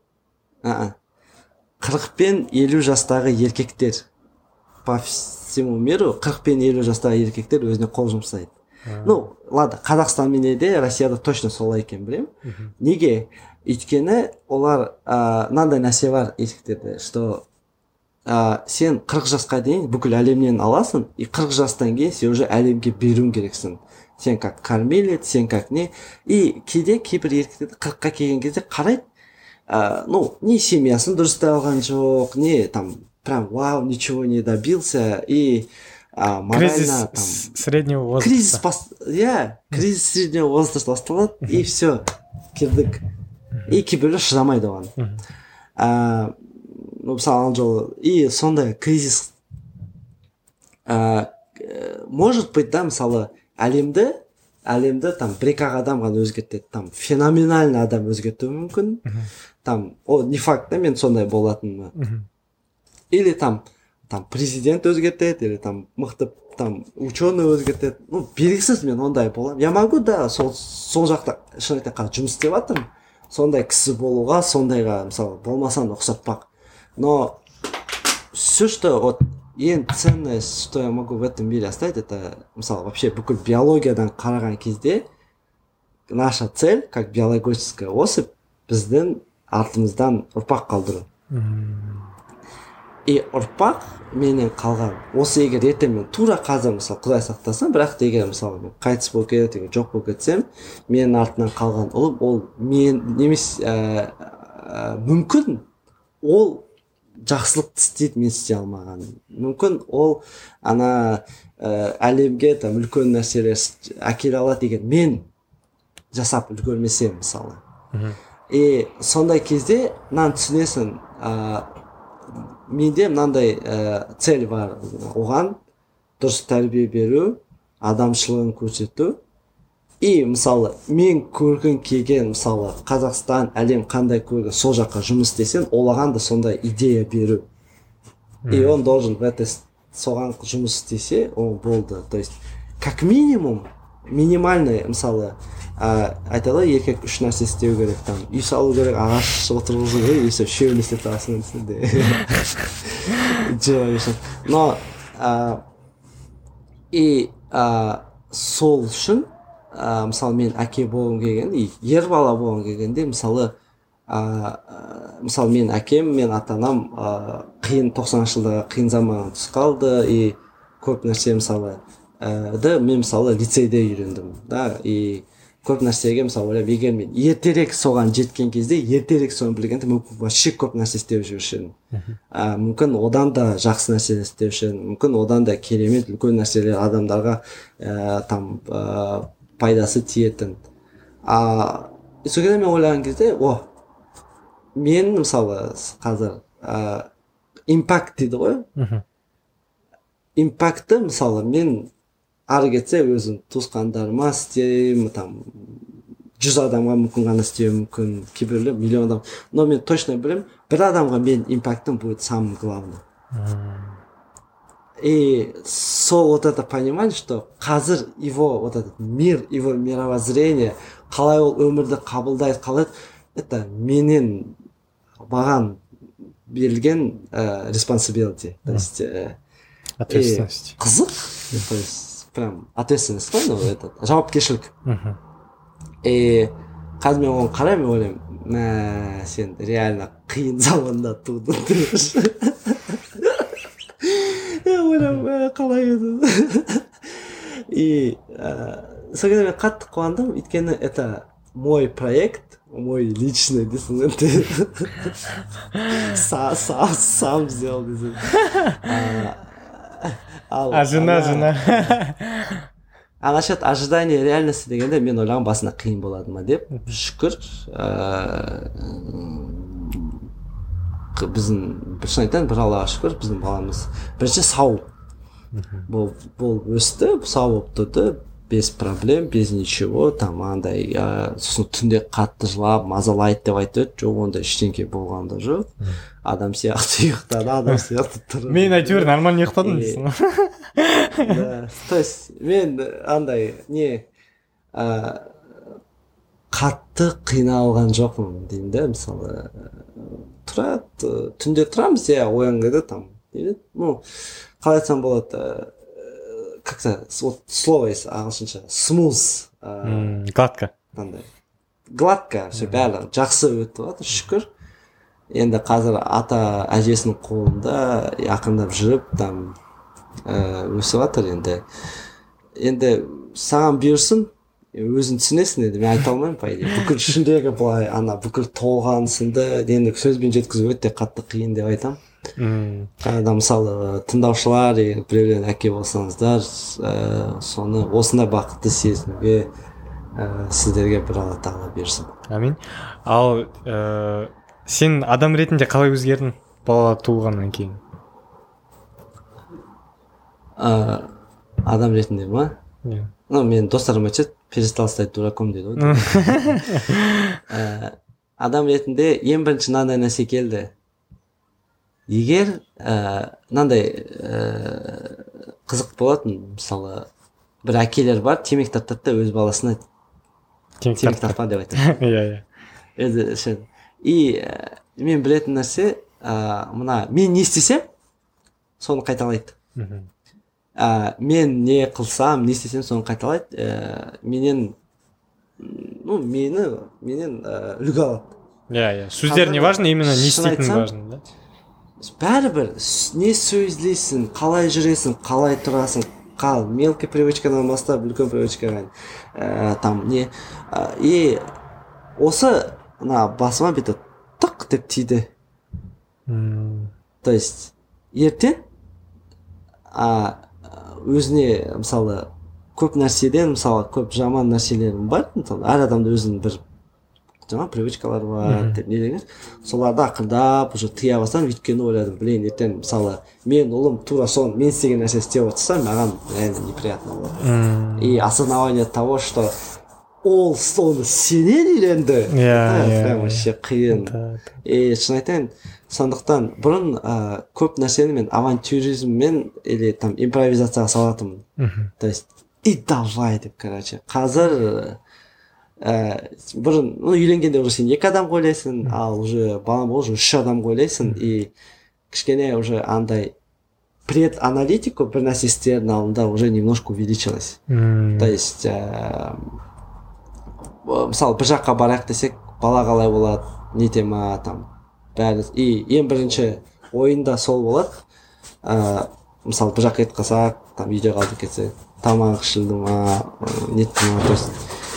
қырық пен елу жастағы еркектер, по всему миру қырық пен елу жастағы еркектер өзіне қол жұмсайды. Ну, ладно, Қазақстан менде де, Россияда точно солай екен білем. Неге? Өйткені олар мынандай нәрсе бар еркектерде, что сен қырық жасқа дейін бүкіл әлемнен аласың, и қырық жастан кейін сен уже әлемге беруің керексің. Сен как кормилец, сен как не. И кейде кейбір еркектерді қырыққа келген кезде қарайды, ә, ну не семьясын дұрыстай алған жоқ, не там прям вау ничего не добился, и а, морально кризис там среднего возраста. кризис бас... иә кризис среднего возраста басталады, и все кірдік, и кейбіреулер шыдамайды оған. ә, ну мысалы ана жолы и сондай кризис ә, может быть да, мысалы әлемді әлемді там бір екі ақ адам ғана өзгертеді, там феноменальный адам өзгертуі мүмкін, там о не факт да мен сондай болатыныма, или там там президент өзгертеді, или там мықты там ученый өзгертеді, ну белгісіз мен ондай боламын. Я могу да сол сол жақта шын айтайын қазір жұмыс істеп жатырмын, сондай кісі болуға, сондайға мысалы болмасам да ұқсатпақ, но все что вот ең ценное, что я могу в этом мире оставить, это мысалы вообще бүкіл биологиядан қараған кезде наша цель как биологическая особь біздің артымыздан ұрпақ қалдыру. И ұрпақ менен қалған осы, егер ертең мен тура қазір мысалы құдай сақтасын, бірақ та егер мысалы мен қайтыс болып кетіп егер жоқ болып кетсем, менің артынан қалған ұлым ол мен немесе ә, ә, мүмкін ол жақсылықты істейді, мен істей алмаған, мүмкін ол ана ә, әлемге там үлкен нәрселер әкеле алады егер мен жасап үлгермесем мысалы. И сондай кезде мынаны түсінесің, ә, менде мынандай ә, цель бар, оған дұрыс тәрбие беру, адамшылығын көрсету. И мысалы мен көргім келген мысалы Қазақстан, әлем қандай көрген, сол жаққа жұмыс істесең, олаған да сондай идея беру. И он должен в этой соған жұмыс істесе, ол болды. То есть как минимум минимальный мысалы ә, айтады еркек үш нәрсе істеу керек, там үй салу керек, ағаш отырғызу керек, и все үшеуін істеп тұрасың десінде. Но ә, и ә, сол үшін ә, мысалы мен әке болғым келген, ер бала болғым келгенде мысалы ә, мысалы мен әкем, мен ата-анам ә, қиын тоқсаныншы жылдағы қиын заман түсіп қалды, и көп нәрсе мысалы ә, да мен мысалы лицейде үйрендім да, и көп нәрсеге мысалы ойлап, егер мен ертерек соған жеткен кезде, ертерек соны білгенде мүмкін вообще көп нәрсе істеп жүруші едім. ә, мүмкін одан да жақсы нәрсе істеуші едім, мүмкін одан да керемет үлкен нәрселер адамдарға ә, там ә, пайдасы тиетін. А сол кезде мен ойлаған кезде, о мен мысалы қазір ә, импакт дейді ғой, импактты мысалы мен ары кетсе өзім туысқандарыма істеймін, там жүз адамға мүмкін ғана істеуім мүмкін, кейбіреулер миллион адам, но мен точно білемін, бір адамға мен импактым будет самым главным. И сол вот это понимание, что қазір его вот этот мир, его мировоззрение, қалай ол өмірді қабылдайды, қалай это менен маған берілген ә, responsibility, то есть ә, ответственность. Қызық, то есть прям ответственность қой, ну это жауапкершілік. И қазір мен оған қараймын, ойлаймын, мә сен реально қиын заманда тудың деп. Я ойлаймын, қалай еді. И сол кезде мен қатты қуандым, өйткені это мой проект, мой личный десің, сам сам сам сделал десің. А жена, жена. А насчет ожидания реальности дегенде мен ойлаған басында қиын болады ма деп. Шүкір, біздің бір шын айтайын, бір Аллаға шүкір, біздің баламыз бірінші сау болып өсті, сау болып тұрды, без проблем, без ничего, там андай сосын түнде қатты жылап мазалайды деп айтады, жоқ ондай ештеңе болған да жоқ. Адам сияқты ұйықтады, адам сияқты тұрды. Мен әйтеуір нормально ұйықтадым дейсің. Да, то есть мен андай не қатты қиналған жоқпын деймін да, мысалы тұрады, түнде тұрамыз, я оянғанда там, ну қалай айтсам болады, как-то вот слово есть ағылшынша, smooth, гладко, гладко, все бәрі жақсы өтіп жатыр, шүкір. Енді қазір ата әжесінің қолында ақындап жүріп там өсіп жатыр. Енді енді саған бұйырсын, өзің түсінесің енді, мен айта алмаймын по идее. Бүкіл ішіндегі былай ана бүкіл толған сынды енді сөзбен жеткізу өте қатты қиын деп айтамын. Қайда мысалы тыңдаушылар егер біреулер әке болсаңыздар, ә, соны осындай бақытты сезінуге ә, сіздерге бір Алла тағала берсін. Амин. Ал ә, сен адам ретінде қалай өзгердің бала туылғаннан кейін? Ә, адам ретінде ма? Иә. Ну, мен достарым айтады, перестал стать дураком дейді ғой. Ә, адам ретінде ең бірінші мынандай нәрсе келді. Егер ә, мынандай ә, қызық болатын, мысалы бір әкелер бар, темек тартады да өз баласына темек тартпа деп айтады. Иә, иә. И ә, мен білетін нәрсе, ә, мына мен не істесем, соны қайталайды. ә, мен не қылсам, не істесем соны қайталайды. ә, менен ну мені менен ә, үлгі алады. Иә, иә. Сөздер не важно, именно не істейтін важно, да? Бәрібір не сөйлейсің, қалай жүресің, қалай тұрасың, қал мелкий привычкадан бастап үлкен привычкаға ә, там не ә, и осы мына басыма бүйтіп тық деп тиді. То есть ертең а өзіне мысалы көп нәрседен, мысалы көп жаман нәрселерім бар, мысалы әр адамда өзінің бір жаңа привычкалар бар деп не деген, соларды ақырдап уже тыя бастадым. Өйткені ойладым, блин, ертең мысалы мен ұлым тура соны мен істеген нәрсе істеп отырса, маған реально неприятно болады. И осознавание того, что ол соны сенен үйренді, прям вообще қиын. И шын айтайын, сондықтан бұрын ә, көп нәрсені мен авантюризммен или там импровизацияға салатынмын. То есть и давай деп, короче. Қазір ә, бұрын ну үйленгенде уже сен екі адам ойлайсың, ал уже балам бол уже үш адам ойлайсың, и кішкене уже андай преданалитику бір нәрсе істердің алдында уже немножко увеличилась. То есть ә, мысалы бір жаққа барайық десек, бала қалай болады, не тема там бәрі. И ең бірінші ойында сол болады. ә, мысалы бір жаққа кетіп қалсақ, там үйде қалдық кетсе, тамақ ішілді ма, нетті ма, то есть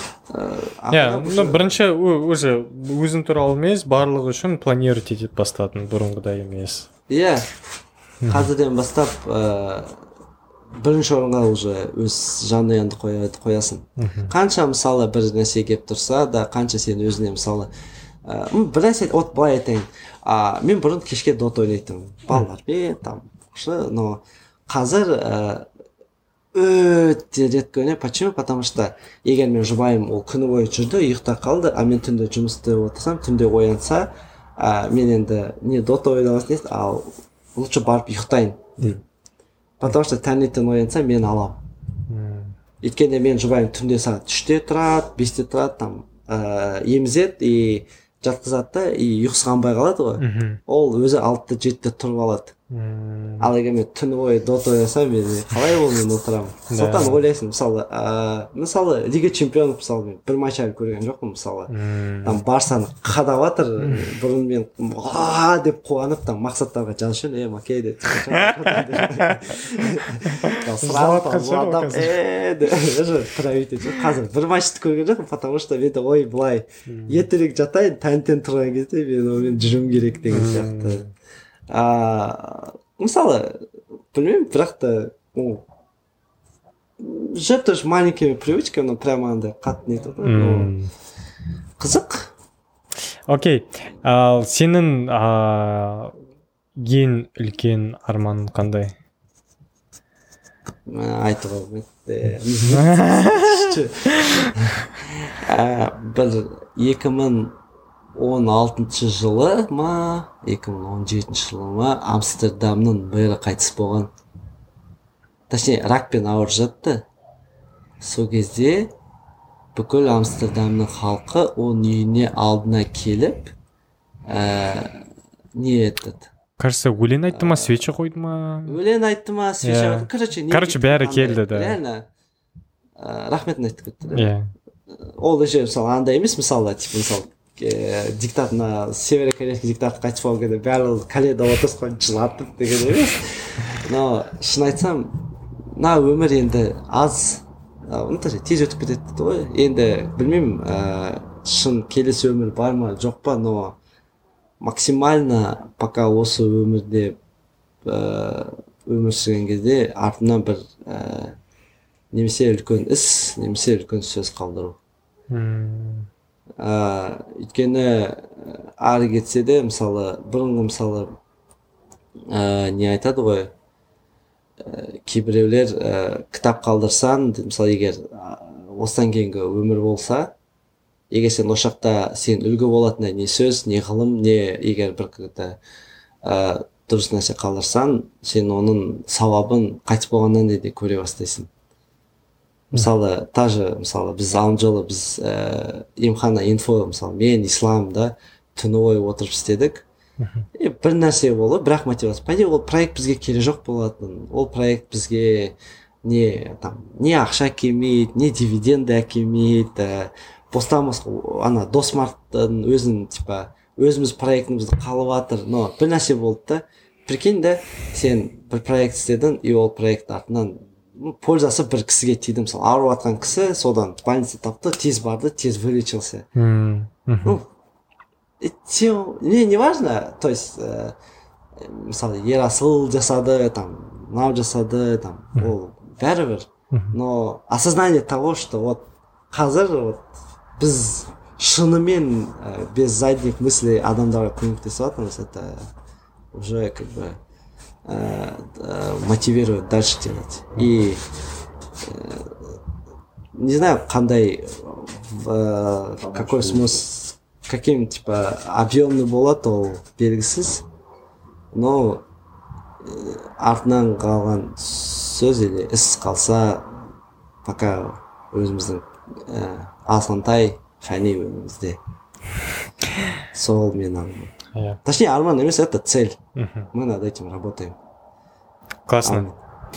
иә, ну бірінші уже өзің туралы емес, барлығы үшін планировать етіп бастадың, бұрынғыдай емес. Иә, қазірден бастап ә, бірінші орынға уже өз жанұяңды қоясың. Қанша мысалы бір нәрсе келіп тұрса да, қанша сен өзіне мысалы ә, бір нәрсе, от былай айтайын, ә, мен бұрын кешке дот ойнайтынмын балалармен, там, но қазір ә, өте редко ойнаймын. Почему? Потому что егер мен жұбайым ол күні бойы жүрді, ұйықта қалды, а мен түнде жұмыс істеп отырсам, түнде оянса, ә, мен енді не дот ойнамасын, ал лучше барып ұйықтайын деймін. Потому что таңертең оянса, мен аламын. Өйткені мен жұбайым түнде сағат үште тұрады, бесте тұрады, там ә, емізеді и жатқызады да, и ұйқысы қанбай қалады ғой. Ол өзі алтыда жетіде тұрып алады. Ал егер мен түні бойы дот ойнасам, мен қалай ол мен отырамын. Сондықтан ойлайсың, мысалы ә, мысалы Лига чемпионов мысалы мен бір матч әлі көрген жоқпын, мысалы там Барсаны қадап жатыр, бұрын мен ва деп қуанып там мақсаттарға жазып жүрмін, е макей деп қазір бір матчты көрген жоқпын, потому что менде ой былай ертерек жатайын, таңертең тұрған кезде мен онымен жүруім керек деген сияқты. А, мысалы, білмеймін, бірақ та жүріп тұрыш маленькими привычками, но прямо андай қатты не тұрды. Қызық. Окей, ал сенің ең үлкен арманың қандай? Айтуға болмайды. Бір екі мың он алтыншы жылы ма, екі мың он жетінші жылы ма, Амстердамның мэрі қайтыс болған. Точнее, ракпен ауырып жатты. Сол кезде бүкіл Амстердамның халқы оның үйіне алдына келіп, ә, не етті. Кажется, өлең айтты ма, свеча қойды ма? Өлең айтты ма, свеча қойды. Короче, Короче, бәрі келді, да. Реально, рахметін айтты кетті. Ол еще, мысалы, андай емес, мысалы, типа, мысалы, диктат на северокорейский диктатор қайтыс болған кезде бәрі каледа отырысқан жылатып деген емес. Но шын айтсам, мына өмір енді аз унутады тез өтіп кетеді дейді ғой. Енді білмеймін, ә, шын келесі өмір бар ма жоқ па, но максимально пока осы өмірде ә, өмір сүрген кезде артымнан бір ә, немесе үлкен іс, немесе үлкен сөз қалдыру. ә, өйткені ары кетсе де, мысалы бұрынғы мысалы ә, не айтады ғой, ә, кейбіреулер ә, кітап қалдырсаң, мысалы егер ә, осыдан кейінгі өмір болса, егер сен осы жақта сен үлгі болатындай не сөз, не ғылым, не егер бір ә, дұрыс нәрсе қалдырсаң, сен оның сауабын қайтыс болғаннан де көре бастайсың. Мысалы тажы мысалы біз алғы жолы біз ә, емхана инфо, мысалы мен исламда түні бойы отырып істедік. И бір нәрсе болды, бірақ мотивация. По идее ол проект бізге керек жоқ болатын. Ол проект бізге не там не ақша келмейді, не дивиденды әкелмейді. Бостамыз ана Досмарттың өзін типа өзіміз проектімізді қалып жатыр, но бір нәрсе болды да. Прикинь да, сен бір проект істедің, и ол проект артынан пользасы бір кісіге тиді. Мысалы ауырып жатқан кісі содан больница тапты, тез барды, тез вылечился. Ну, не, не важно, то есть ә, мысалы Ерасыл жасады, там мынау жасады, там ол бәрібір, но осознание того, что вот қазір вот біз шынымен ә, без задних мыслей адамдарға көмектесіп жатырмыз, это уже как бы ә, ә, мотивирует дальше делать. И ә, не знаю, қандай ә, какой смысл, каким типа объемный болады, ол белгісіз, но артынан қалған сөз или іс қалса, пока өзіміздің ә, асантай фәни өмірімізде. Сол мен арман. Yeah. Точнее, арман емес, это цель. Uh-huh. Мы над этим работаем. Классно.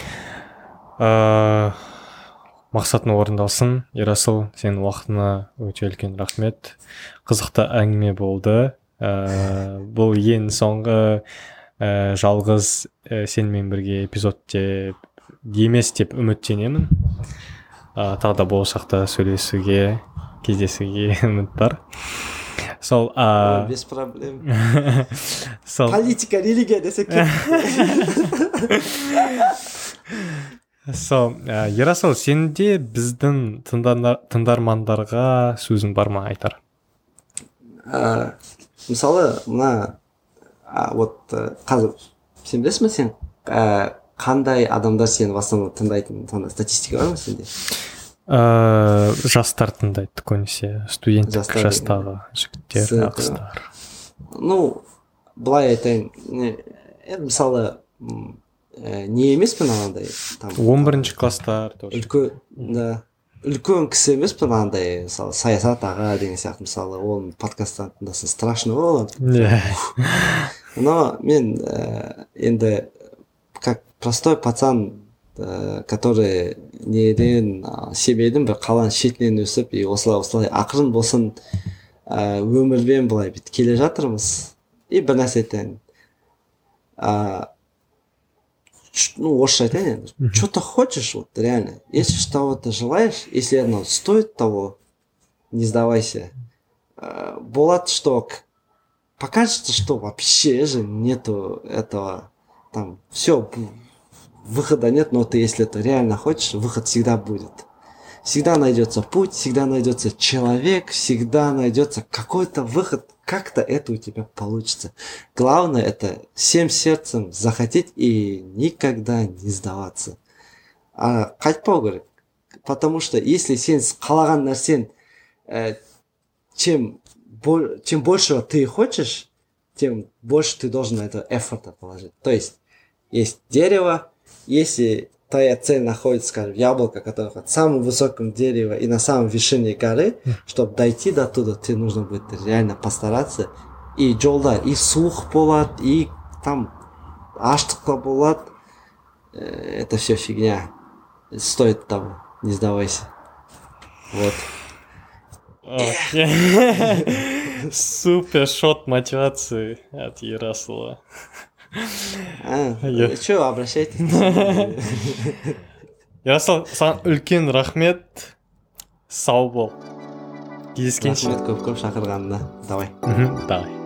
Uh, мақсатың орындалсын. Ерасыл, сенің уақытына өте үлкен рахмет. Қызықты әңгіме болды. Uh, бұл ең соңғы uh, жалғыз uh, сенімен бірге эпизод емес деп үміттенемін. Uh, тағы да болашақта сөйлесуге, кездесуге үміт бар. Сол, а... Без проблем. Сол... Политика, религия десек. Сол, Ерасыл, сенде біздің тыңдармандарға сөзің бар ма айтар? А, мысалы, мына вот қазір сен білесің бе, сен а, қандай адамдар сені в основном тыңдайтын, статистика бар ма сенде? Uh, жастар тыңдайды көбінесе, студенттік жастағы жігіттер, қыздар. Ну, былай айтайын, мысалы не емеспін анандай он бірінші класстар үлкен, да, үлкен кісі емеспін анандай, мысалы Саясат аға деген сияқты, мысалы оның подкасттан тыңдасын страшно болады. Но мен енді как простой пацан, который неден семейдің бір қаланың шетінен өсіп, и осылай-осылай ақырын болсын өмірбен былай бит келе жатырмыз. И бір нәрсе айтайын, ну орысша айтайын енді, что ты хочешь, вот реально, если что-то желаешь, если оно стоит того, не сдавайся. Болады, что покажется, что вообще же нету этого, там все, выхода нет, но ты, если это реально хочешь, выход всегда будет. Всегда найдется путь, всегда найдется человек, всегда найдется какой-то выход, как-то это у тебя получится. Главное это всем сердцем захотеть и никогда не сдаваться. А қайтпау керек, потому что если сен қалаған нәрсен, э, чем, чем больше ты хочешь, тем больше ты должен на это эфорта положить. То есть есть дерево. Если твоя цель находится, скажем, яблоко, которое на самом высоком дереве и на самом вершине горы, чтобы дойти до туда, тебе нужно будет реально постараться. И жолда и суық болады, и там аштықта болады. Это все фигня. Стоит того, не сдавайся. Вот. Супер шот мотивации от Ерасыла. А, что, обращайтесь. Ярослав, саған үлкен рахмет. Сау бол. Кездескенше. Рахмет көп көп шақырғанына. Давай. Мхм, давай.